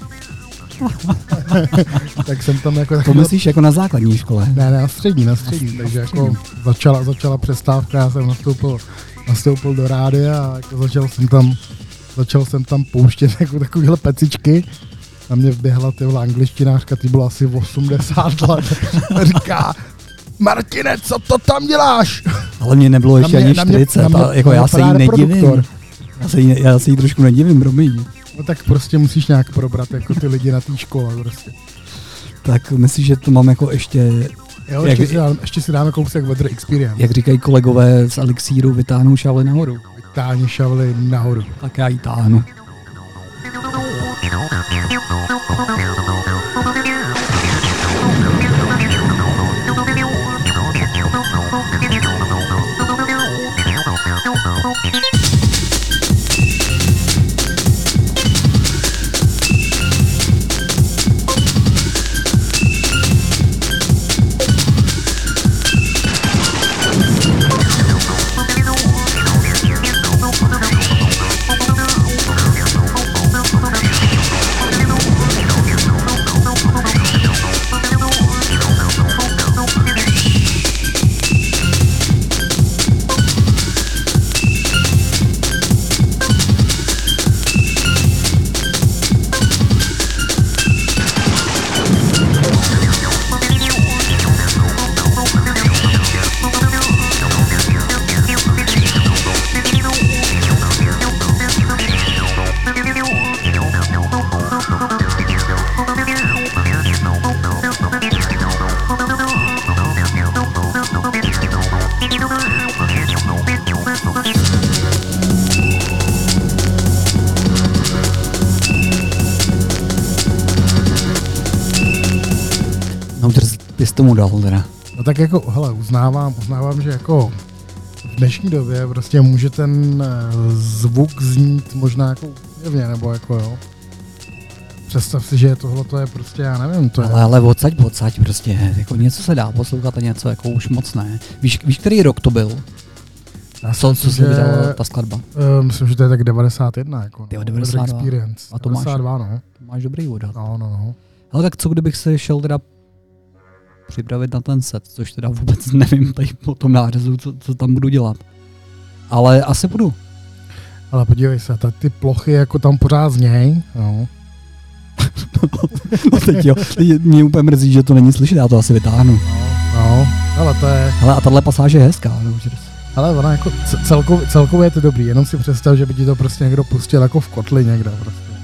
tak jsem tam jako... To myslíš jako na základní škole? Ne, na střední, takže jako začala přestávka, já jsem nastoupil do rádia a jako začal jsem tam pouštět jako takovýhle pecičky. Na mě vběhla tyhle angličtinářka, ty bylo asi 80 let. Říká, Martine, co to tam děláš? Ale mě nebylo ještě ani 40, a jako já se jí nedivím. Já se jí trošku nedivím, promiň. No tak prostě musíš nějak probrat jako ty lidi na té škole prostě. Tak myslíš, že to mám jako ještě... Jo, ještě si dáme kousek weather experience. Jak říkají kolegové z Elixíru, vytáhnou šavli nahoru. Vytáhni šavli nahoru. Tak já jí táhnu. Bys tomu dal teda. No tak jako, hele, uznávám, že jako v dnešní době prostě může ten zvuk znít možná jako jevně, nebo jako jo. Představ si, že tohle je prostě, já nevím, to je... Ale odsaď prostě, jako něco se dá poslouchat a něco jako už moc ne. Víš který rok to byl? Co se vydala ta skladba? Myslím, že to je tak 91, jako. No, 92. Experience. A to 92, no. Máš dobrý odhad. No. Ale tak co kdybych se šel teda připravit na ten set, což teda vůbec nevím tady po tom nářezu, co tam budu dělat. Ale asi budu. Ale podívej se, ty plochy jako tam pořád zněj, no. No teď jo, mě úplně mrzí, že to není slyšet, já to asi vytáhnu. No, ale to je... Hele, a tahle pasáž je hezká, no. Ale ona jako celkově je to dobrý, jenom si představ, že by ti to prostě někdo pustil jako v kotli někde prostě.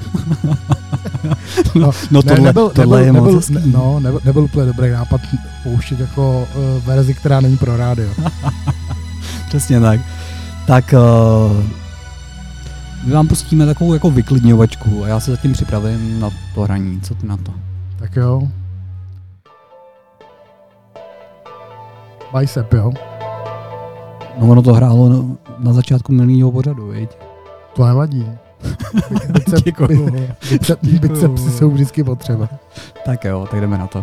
No tohle je moc hezký. No, nebyl úplně dobrý nápad pouštět jako verzi, která není pro rádio. Přesně tak. Tak my vám pustíme takovou jako vyklidňovačku a já se zatím připravím na to hraní. Co ty na to? Tak jo. Bicep, jo? No ono to hrálo na začátku minulého pořadu, viď? To nevadí. Bicepsy jsou vždycky potřeba. Tak jo, tak jdeme na to.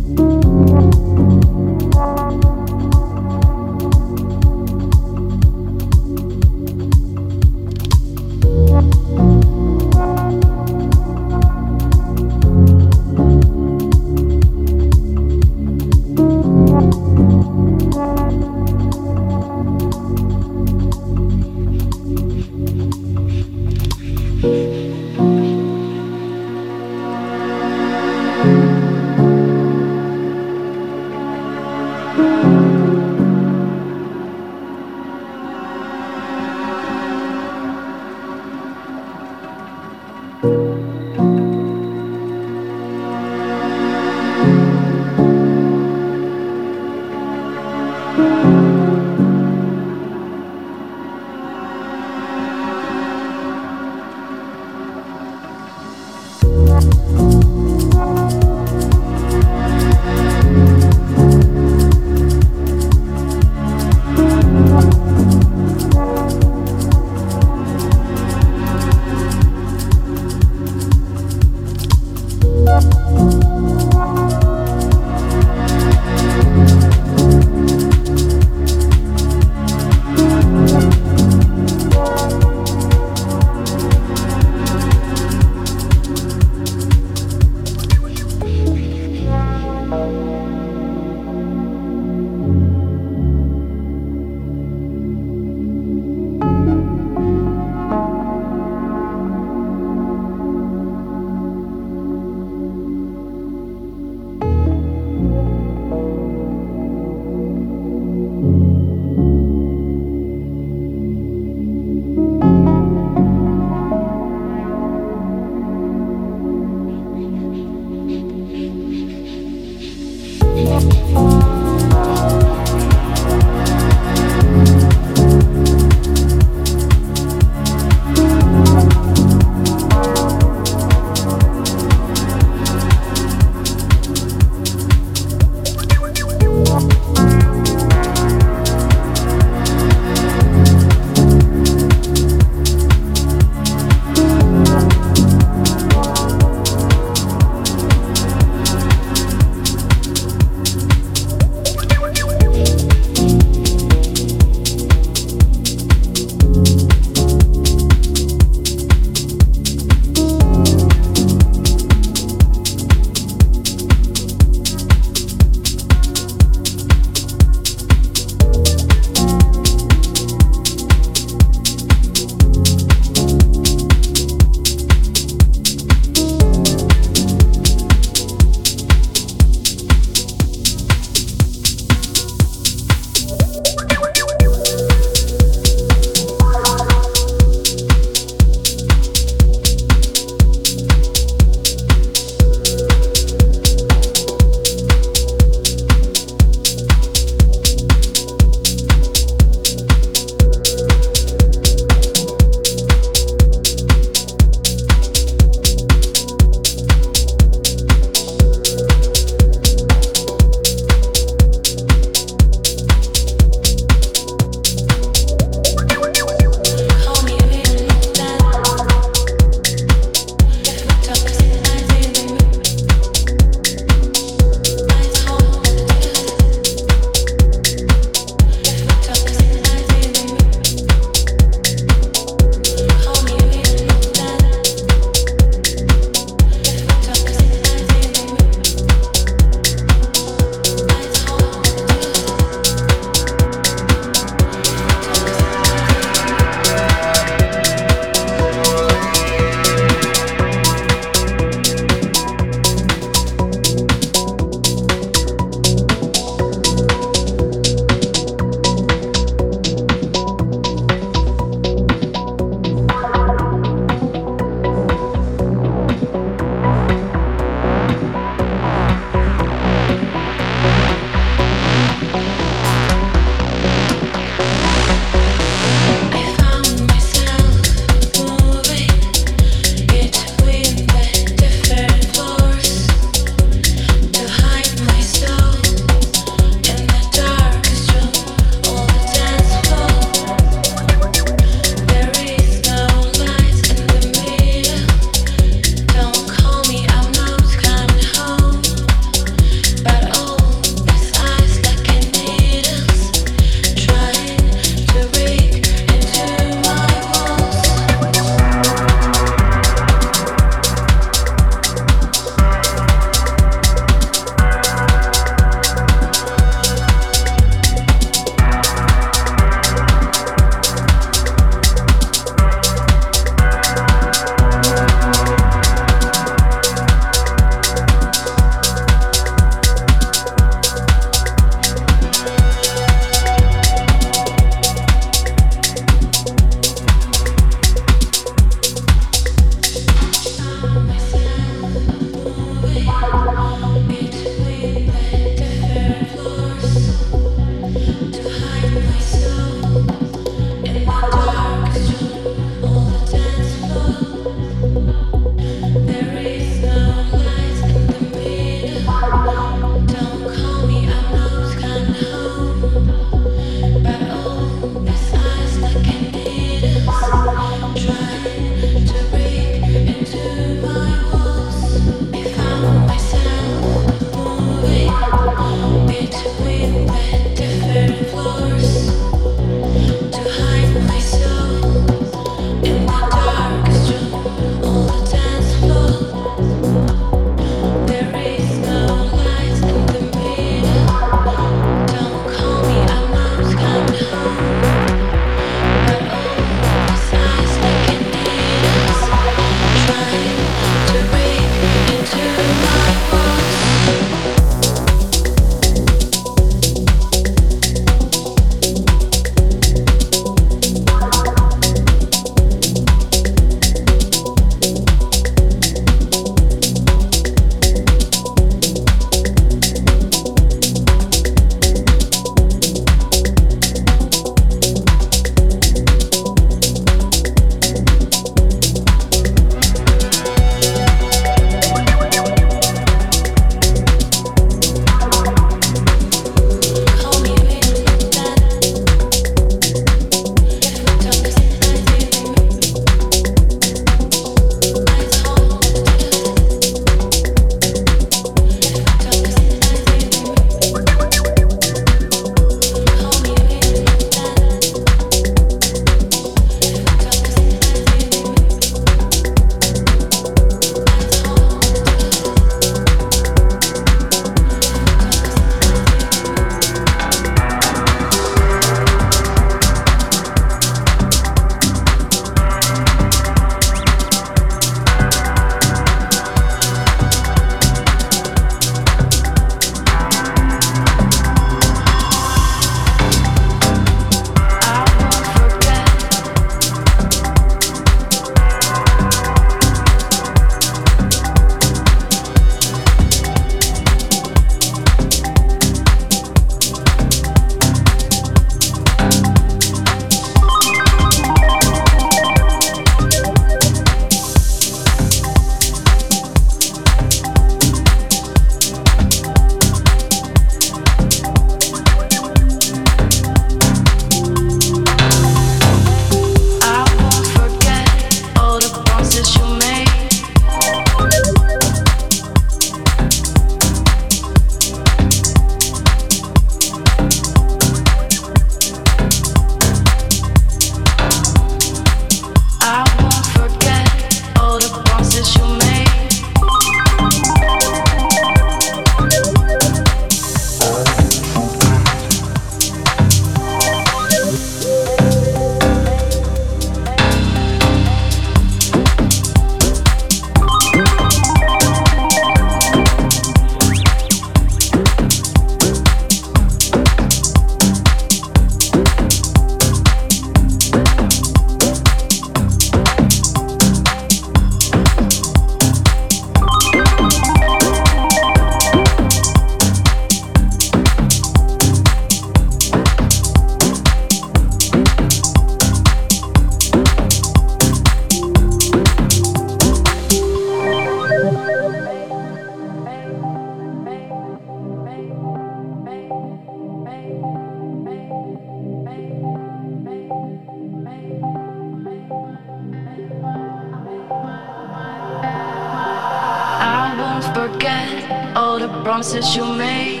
all the promises you made.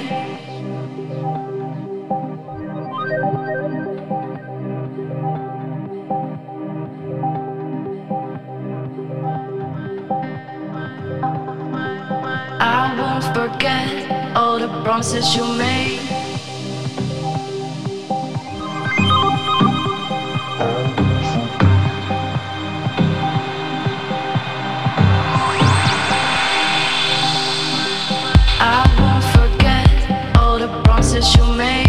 I won't forget all the promises you made. I won't forget all the promises you made.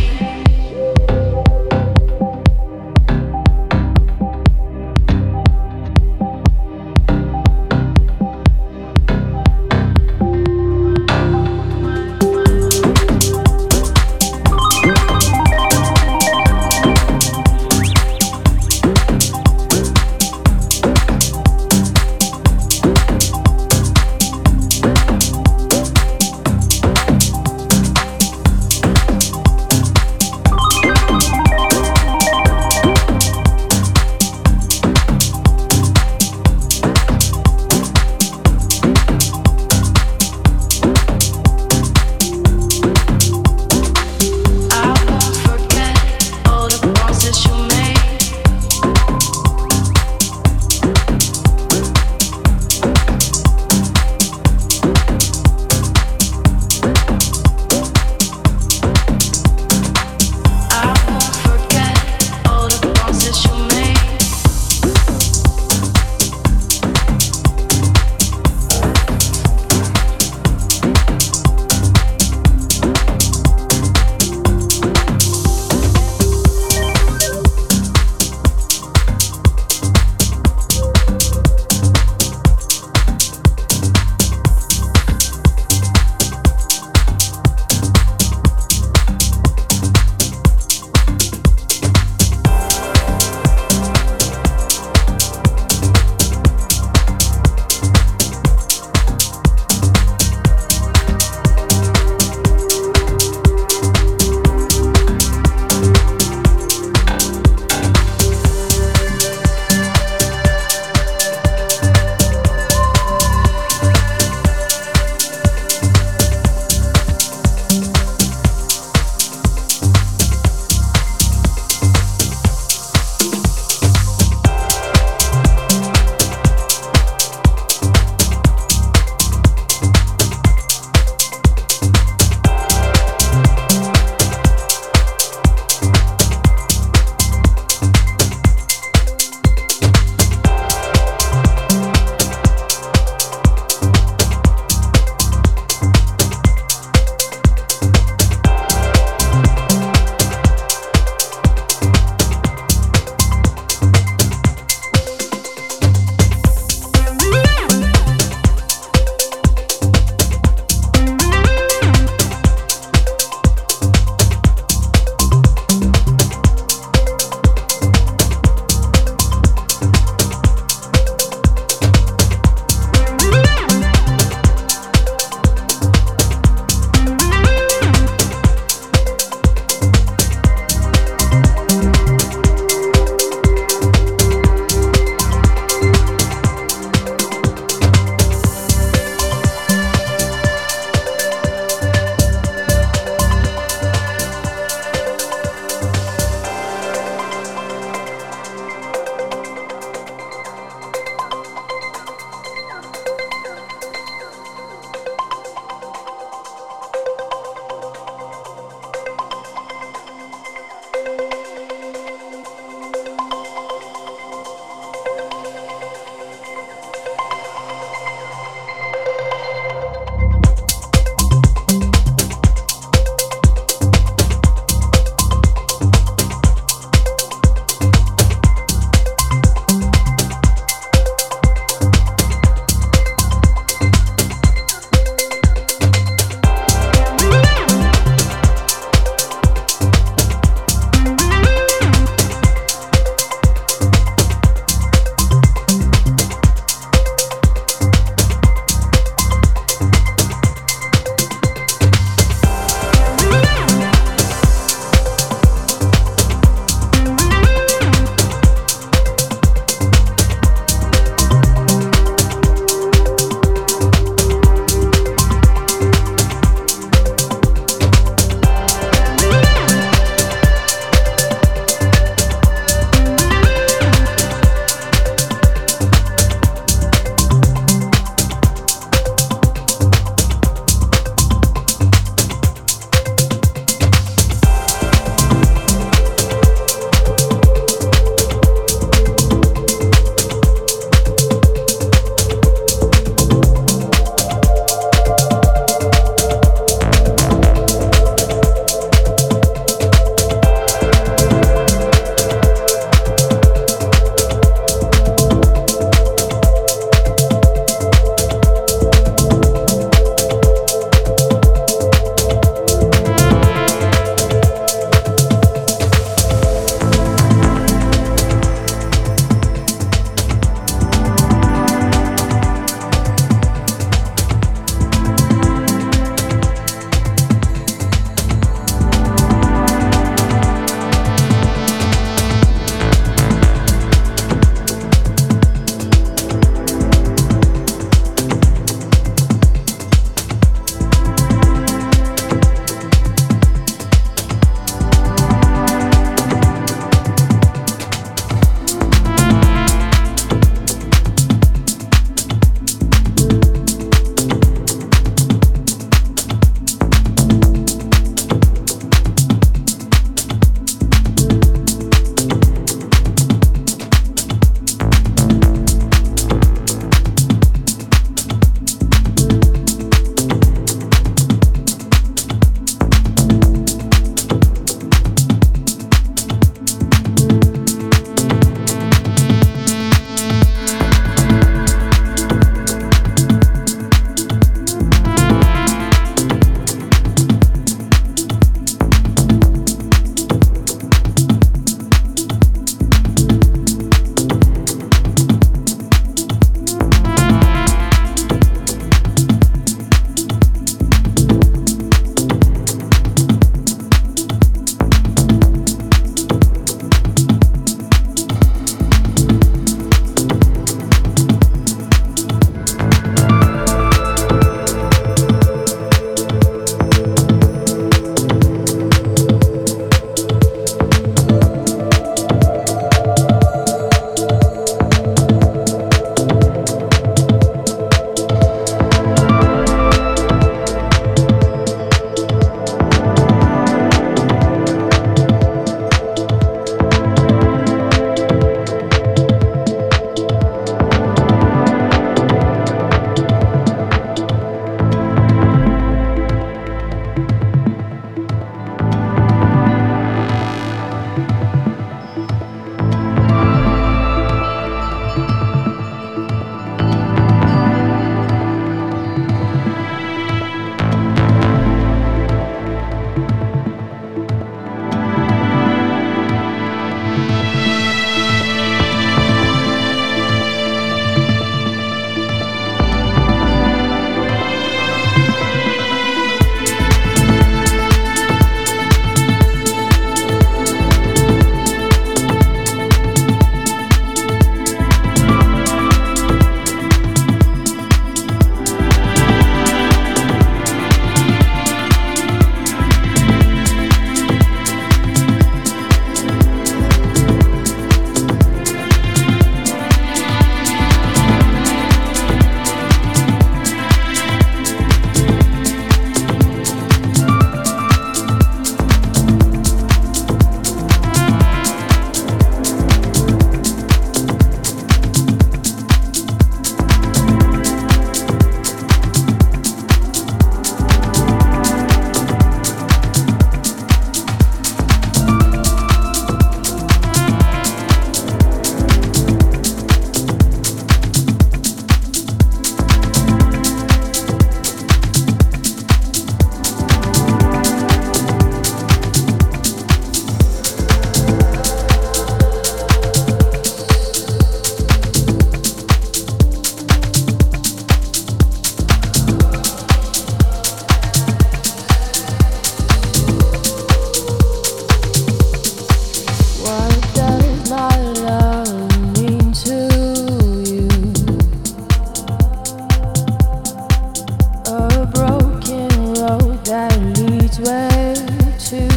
too.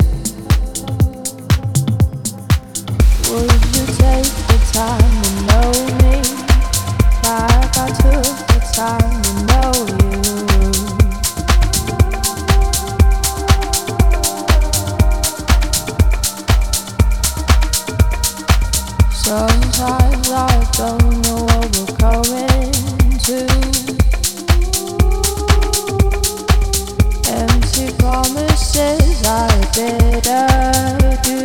Would you take the time to know me like I took the time to know you? Sometimes I don't know what we're going to. Empty promises I better do.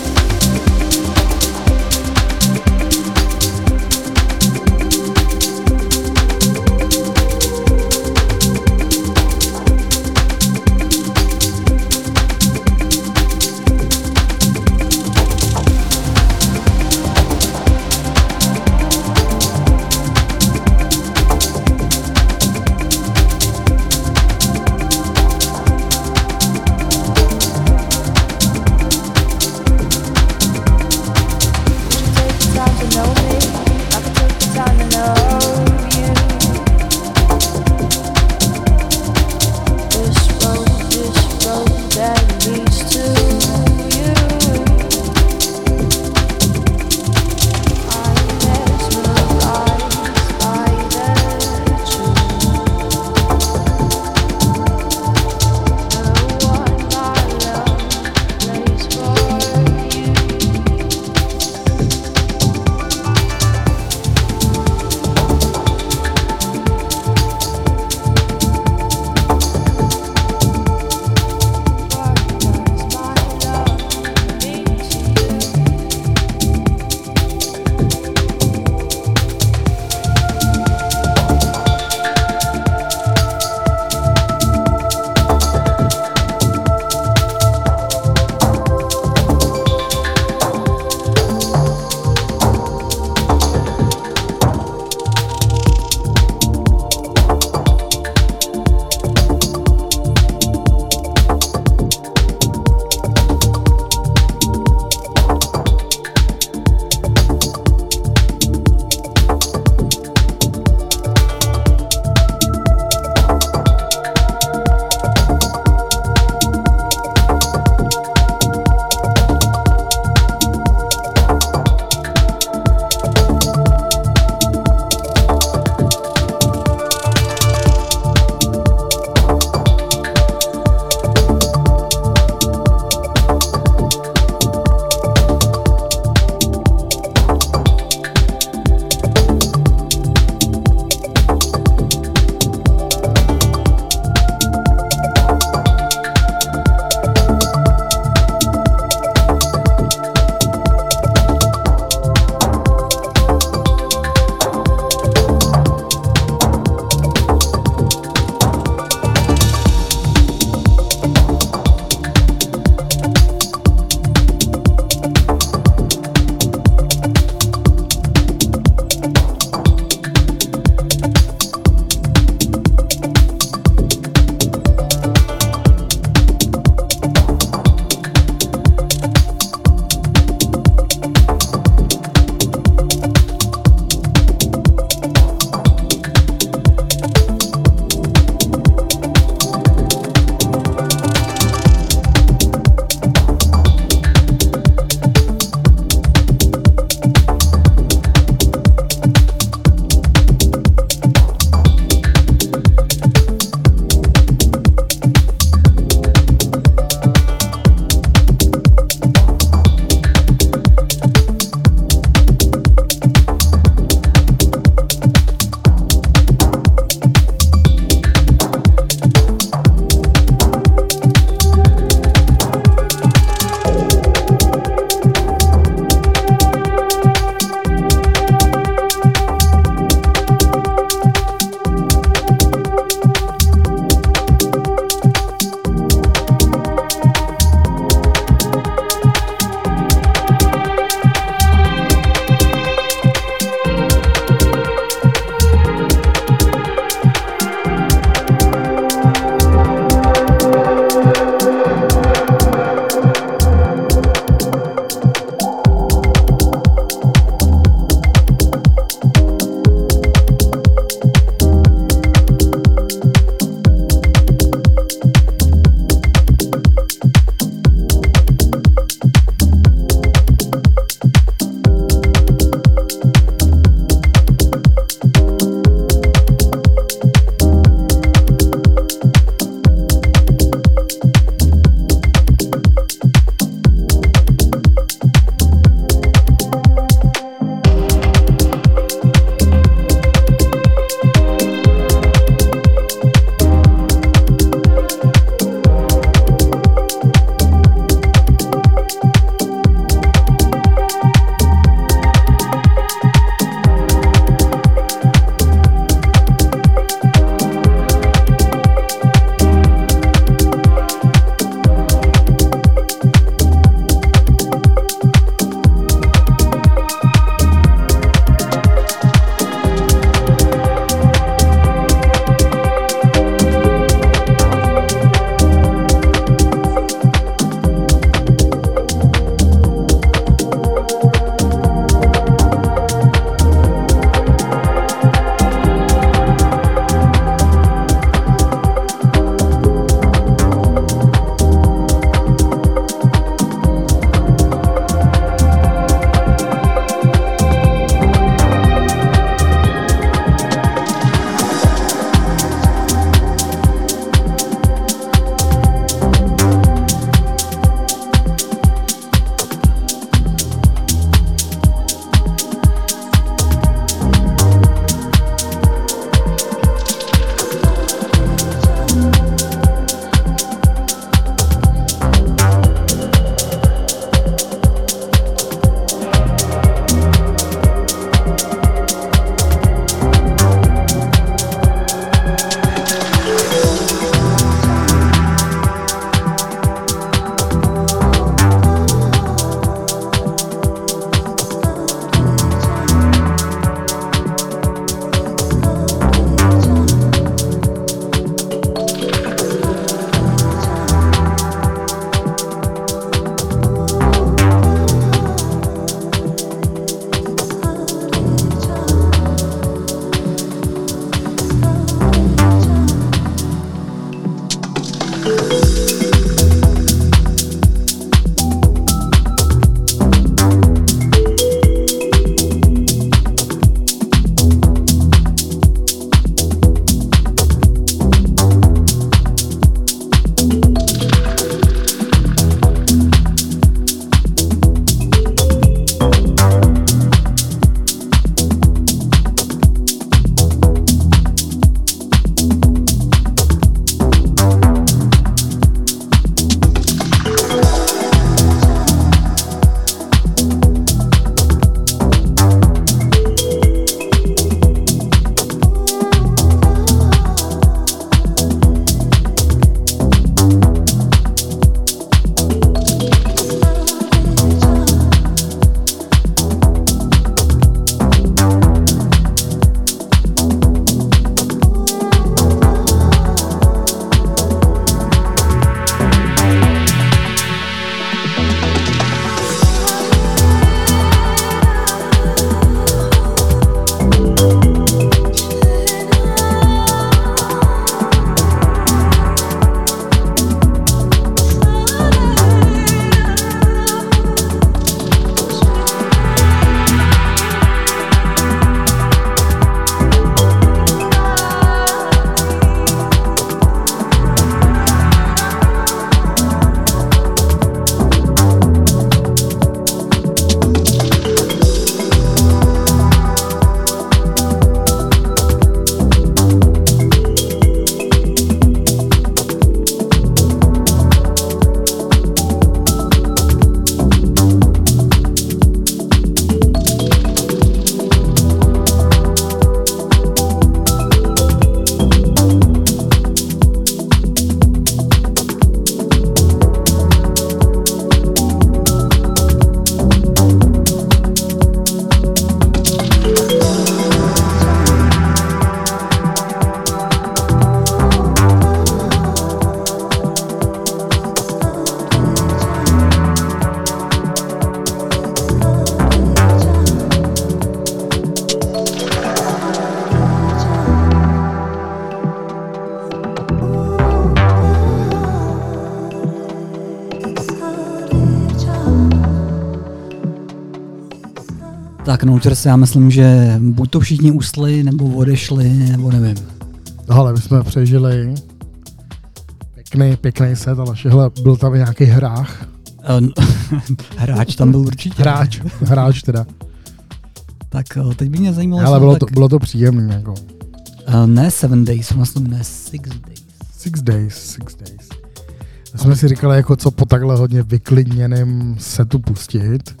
Tak Nouters, já myslím, že buď to všichni usli, nebo odešli, nebo nevím. Ale my jsme přežili pěkný set, ale všehle byl tam i nějaký hrách. Hráč tam byl určitě. Hráč teda. Tak teď by mě zajímalo... Ale bylo to příjemný. Jako. Ne 7 days, vlastně ne 6 days. 6 days. Já jsme si říkali, jako co po takhle hodně vyklidněném setu pustit.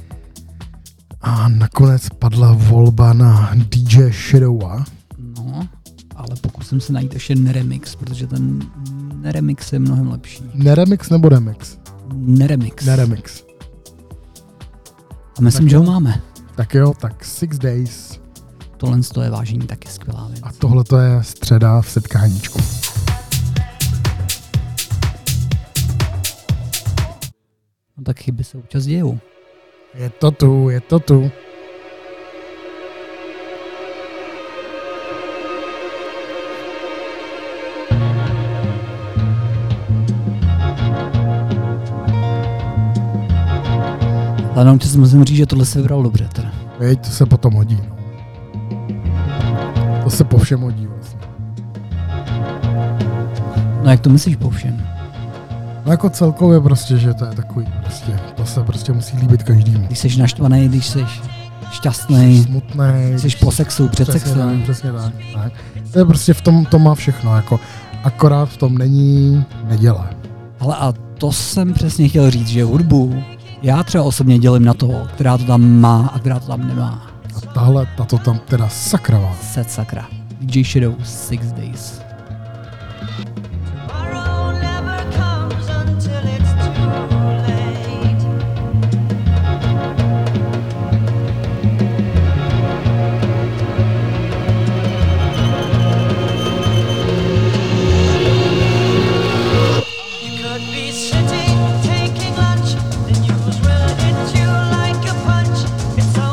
A nakonec padla volba na DJ Shadowa. No, ale pokusím se najít ještě neremix, protože ten neremix je mnohem lepší. Neremix nebo remix? Neremix. A myslím, tak že ho máme. Tak jo, tak 6 days. Tohle je vážení taky skvělá věc. A tohle to je středa v setkáníčku. No tak chyby se občas dějou. Je to tu. Ale nám si musím říct, že tohle se vybral dobře teda. Veď, to se potom hodí. No. To se po všem hodí vlastně. No jak to myslíš po všem? No jako celkově prostě, že to je takový prostě, to se prostě musí líbit každému. Když jsi naštvaný, když jsi šťastný, smutný, jsi po sexu, před sexem. Přesně tak. To je prostě v tom, to má všechno, jako akorát v tom není neděle. Ale a to jsem přesně chtěl říct, že hudbu já třeba osobně dělím na toho, která to tam má a která to tam nemá. A tato tam teda sakra má. Set sakra. DJ Shadow 6 days.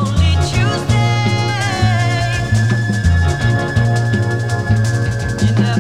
You know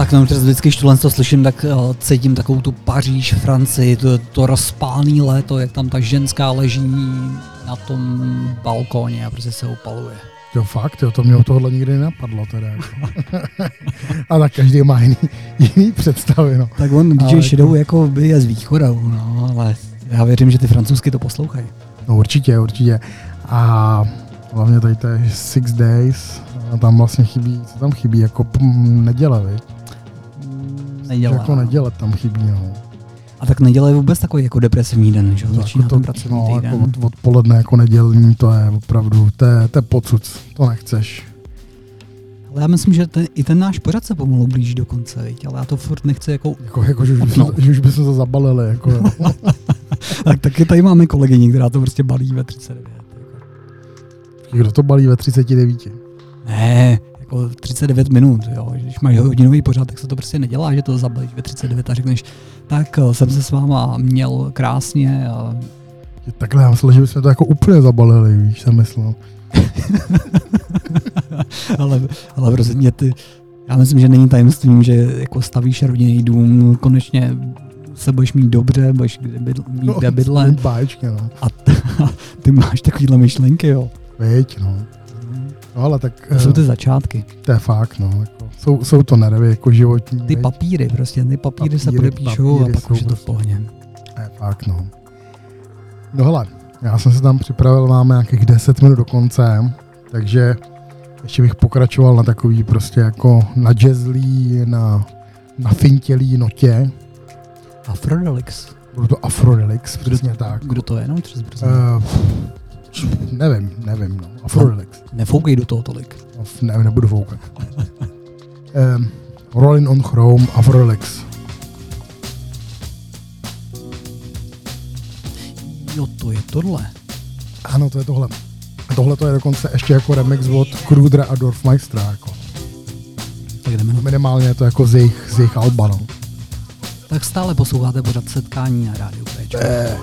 Tak no, vždycky, když to slyším, tak cítím takovou tu Paříž, Francii, to rozpálný léto, jak tam ta ženská leží na tom balkóně a prostě se opaluje. Jo, fakt, jo, to mě o tohohle nikdy nenapadlo teda. Jako. A tak každý má jiný představy, no. Tak on DJ Shadow jako by je z východu, no, ale já věřím, že ty francouzsky to poslouchají. No určitě. A hlavně tady to je 6 Days, a tam vlastně chybí, co tam chybí, jako neděle, viď? Neděle. Jako neděle tam chybí, no. A tak neděle je vůbec takový jako depresivní den, že? Začíná jako ten pracovní týden. Jako odpoledne jako nedělní, to je opravdu, to je pocuc, to nechceš. Ale já myslím, že i ten náš pořad se pomalu blíží do konce, viď? Ale já to furt nechci jako že už bychom to zabalili, jako. Tak taky tady máme kolegyni, která to prostě balí ve 39. Kdo to balí ve 39? Ne, jako 39 minut, jo. Když máš hodinový pořad, tak se to prostě nedělá, že to zabalíš ve 39 a řekneš, tak jsem se s váma měl krásně. A... Takhle, já myslel, že bychom to jako úplně zabalili, víš, jsem myslel. ale prostě já myslím, že není tajemstvím, že jako stavíš rodinný dům, konečně se budeš mít dobře, budeš mít kde bydlet. Báječky, no. A ty máš takovýhle myšlenky, jo. Víď, no. No ale tak... To jsou ty začátky. To je fakt, no. Jako, jsou to nervy jako životní. Ty papíry se podepíšou a pak už je to v pohodě. To je fakt, no. No hele, já jsem se tam připravil, máme nějakých 10 minut do konce, takže ještě bych pokračoval na takový prostě jako na jazzlí, na fintělý notě. Afrodelix. Bylo to Afrodelix, přesně tak. Kdo to je? No, nevím, no. Afrodelix. Nefoukej do toho tolik. Nebudu foukat. Rolling on Chrome, Afrodelix. Jo, to je tohle. Ano, to je tohle. Tohle to je dokonce ještě jako remix od Krudera a Dorfmeistera, jako. Tak jdeme na... Minimálně je to jako z jejich alba, no. Tak stále posloucháte pořad Setkání na rádiu Péčko.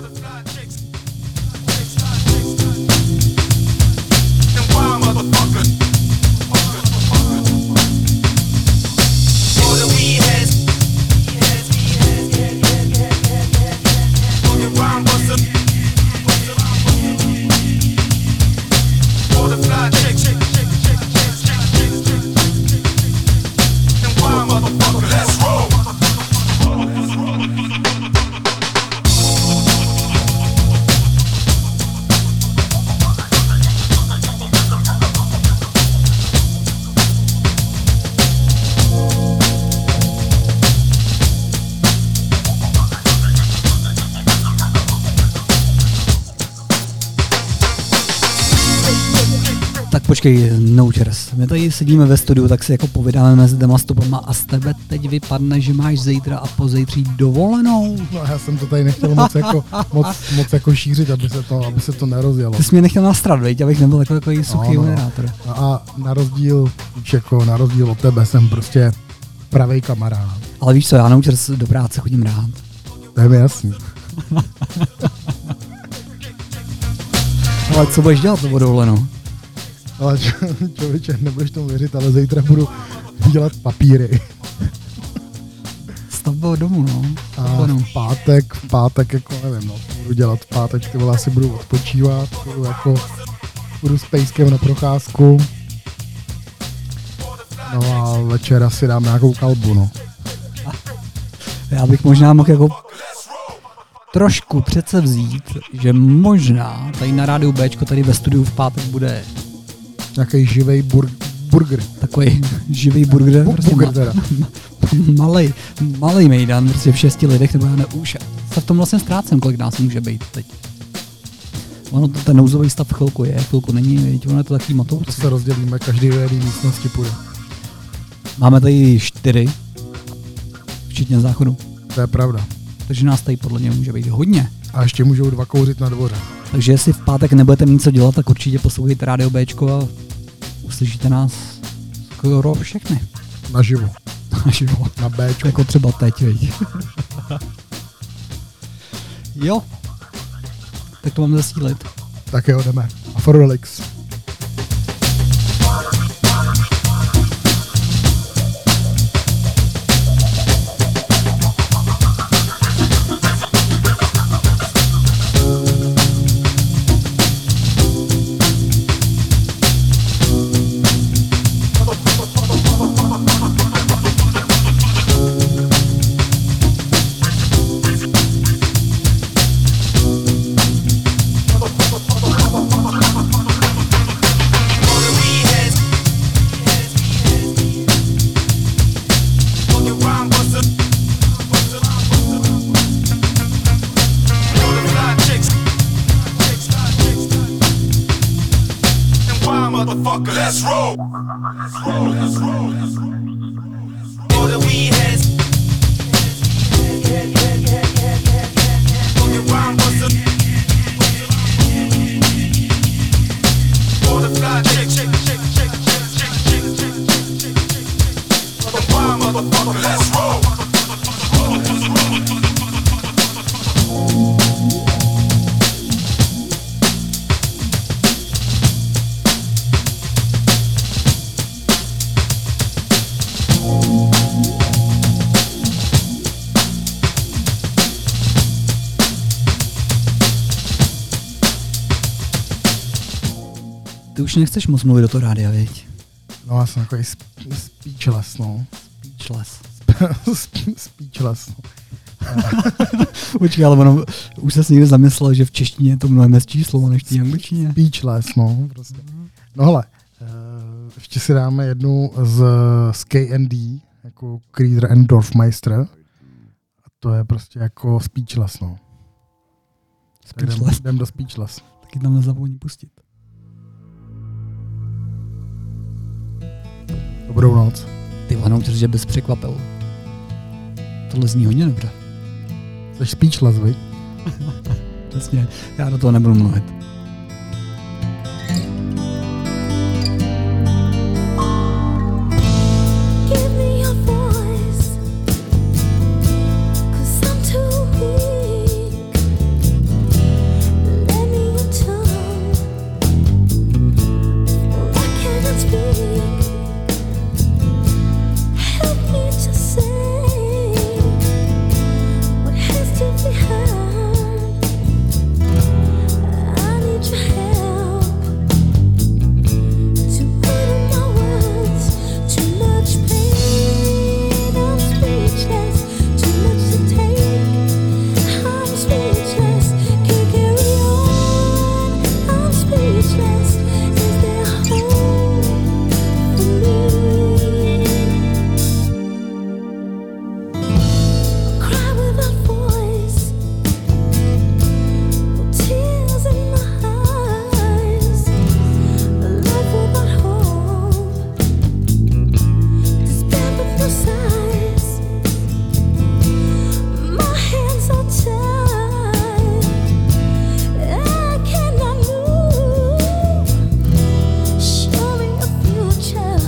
Počkej, no čers. My tady sedíme ve studiu, tak si jako povídáme mezi těma stopama a z tebe teď vypadne, že máš zítra a pozítří dovolenou. No já jsem to tady nechtěl moc jako šířit, aby se to nerozjelo. Ty jsi mě nechtěl nastrat, veď, abych nebyl takový suchý moderátor. A na rozdíl od tebe jsem prostě pravej kamarád. Ale víš co, já na čers do práce chodím rád. To je mi jasný. Ale co budeš dělat to dovolenou? Ale člověče, nebudeš tomu věřit, ale zítra budu dělat papíry. Stavba domů, no. A v pátek, jako nevím, no, budu dělat v pátek, ty vole, asi budu odpočívat, budu s pejskem na procházku. No a večer asi dám nějakou kalbu, no. Já bych možná mohl jako trošku přece vzít, že možná tady na rádiu Bčko, tady ve studiu v pátek bude nějaký živej burger. Takový živý burger. Burger teda. Malej mejdan, prostě v 6 lidech, nebo já už se v tom vlastně ztrácím, kolik nás může být teď. Ono to ten nouzový stav chvilku je, chvilku není, víte, ono je to takový matoucí. To se rozdělíme, každý do jedné místnosti půjde. Máme tady 4, včetně záchodu. To je pravda. Takže nás tady podle mě může být hodně. A ještě můžou 2 kouřit na dvoře. Takže jestli v pátek nebudete mít co dělat, tak určitě poslouchejte rádio Bčko a uslyšíte nás skoro všechny. Naživo. Naživo. Na Bčko. Jako třeba teď, veď. Jo. Tak to mám zasílit. Tak jo, jdeme. Afrodelix. All the weed heads. Fucking rhyme busters. All the fly chick. Motherfucker, let's roll. Ty už nechceš moc mluvit do toho rádia, viď? No já jsem takový speechless, no. Speechless. Speechless, no. Počkej, ale ono, už se někde zamyslel, že v češtině je to mnohem hezčí slovo než v angličtině. Speechless, no, prostě. No hele, ještě si dáme jednu z K&D, jako Creeder and Dorfmeister. A to je prostě jako Speechless, no. Speechless. Jdem do Speechless. Taky tam nezapomeň pustit. Dobrou noc. Ty vano, že bys překvapil. Tohle zní hodně dobře. Jsi Speechless, viď? Přesně, já do toho nebudu mluvit. Give me your voice, 'cause I'm too weak. Let me your tongue, for I cannot speak. Help me to say what has to be heard. I need your help to put in my words. Too much pain, I'm speechless. Too much to take, I'm speechless. Can't carry on, I'm speechless. Is there hope for me? Cry without voice, tears in my eyes. A life without hope, despair with no size. My hands are tied, I cannot move. Showing a future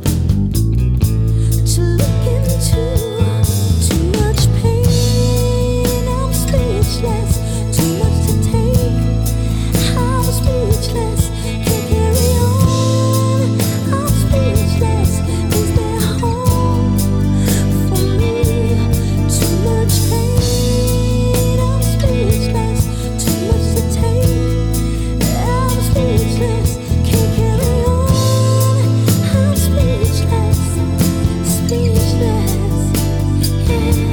to look into. Too much pain, I'm speechless. Too much to take, I'm speechless. Can't carry on, I'm speechless. Is there hope for me? Too much pain, I'm speechless. Too much to take, I'm speechless. Can't carry on, I'm speechless. Speechless, yeah.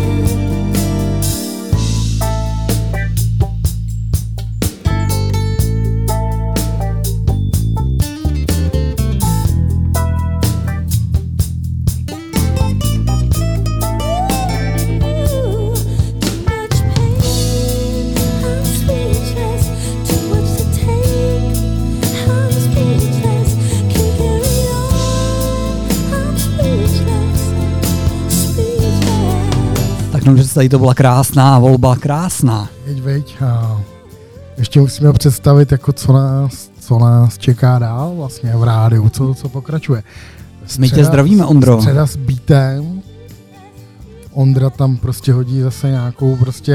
Too much pain, I'm speechless. Too much to take, I'm speechless. Can't carry on, I'm speechless. Speechless. Tak no, že tady to byla krásná volba, krásná. Veď. A ještě musíme představit, jako co nás čeká dál vlastně v rádiu, co pokračuje. My tě zdravíme, Ondro. Středa s beatem. Ondra tam prostě hodí zase nějakou prostě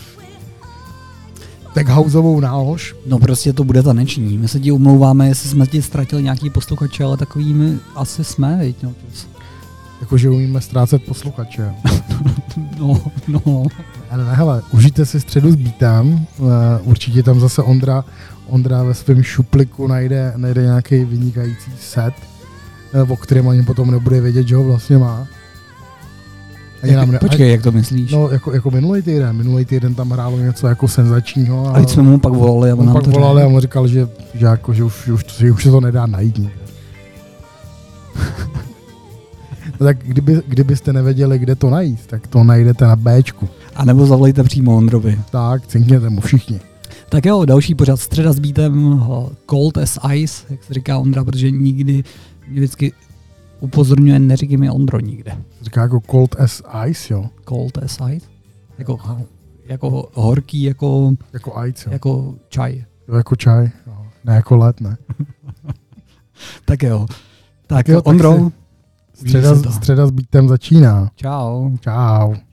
techhouseovou nálož. No prostě to bude taneční. My se ti omlouváme, jestli jsme ti ztratili nějaký posluchače, ale takovými asi jsme, viď? No, Jakože umíme ztrácet posluchače. no. Ale hele, užijte si středu s beatem. Určitě tam zase Ondra ve svém šupliku najde nějaký vynikající set, o kterém ani potom nebude vědět, že ho vlastně má. Počkej, jak to myslíš? No, jako minulý týden tam hrálo něco jako senzačního. A teď jsme mu pak volali a on nám to volali a on říkal, že už se to nedá najít nikde. No tak kdybyste nevěděli, kde to najít, tak to najdete na Bčku. A nebo zavolejte přímo Ondrovi. Tak, cinkněte mu všichni. Tak jo, další pořad Středa s beatem, cold as ice, jak se říká Ondra, protože nikdy mě vždycky upozorňuje, neříkej mi Ondro nikde. Říká jako cold as ice, jo. Cold as ice? Jako horký, jako ice, jo. jako čaj. Jo, jako čaj, jo. Ne jako led, ne. Tak jo. Tak jo, Ondro, středa s beatem začíná. Čau. Čau.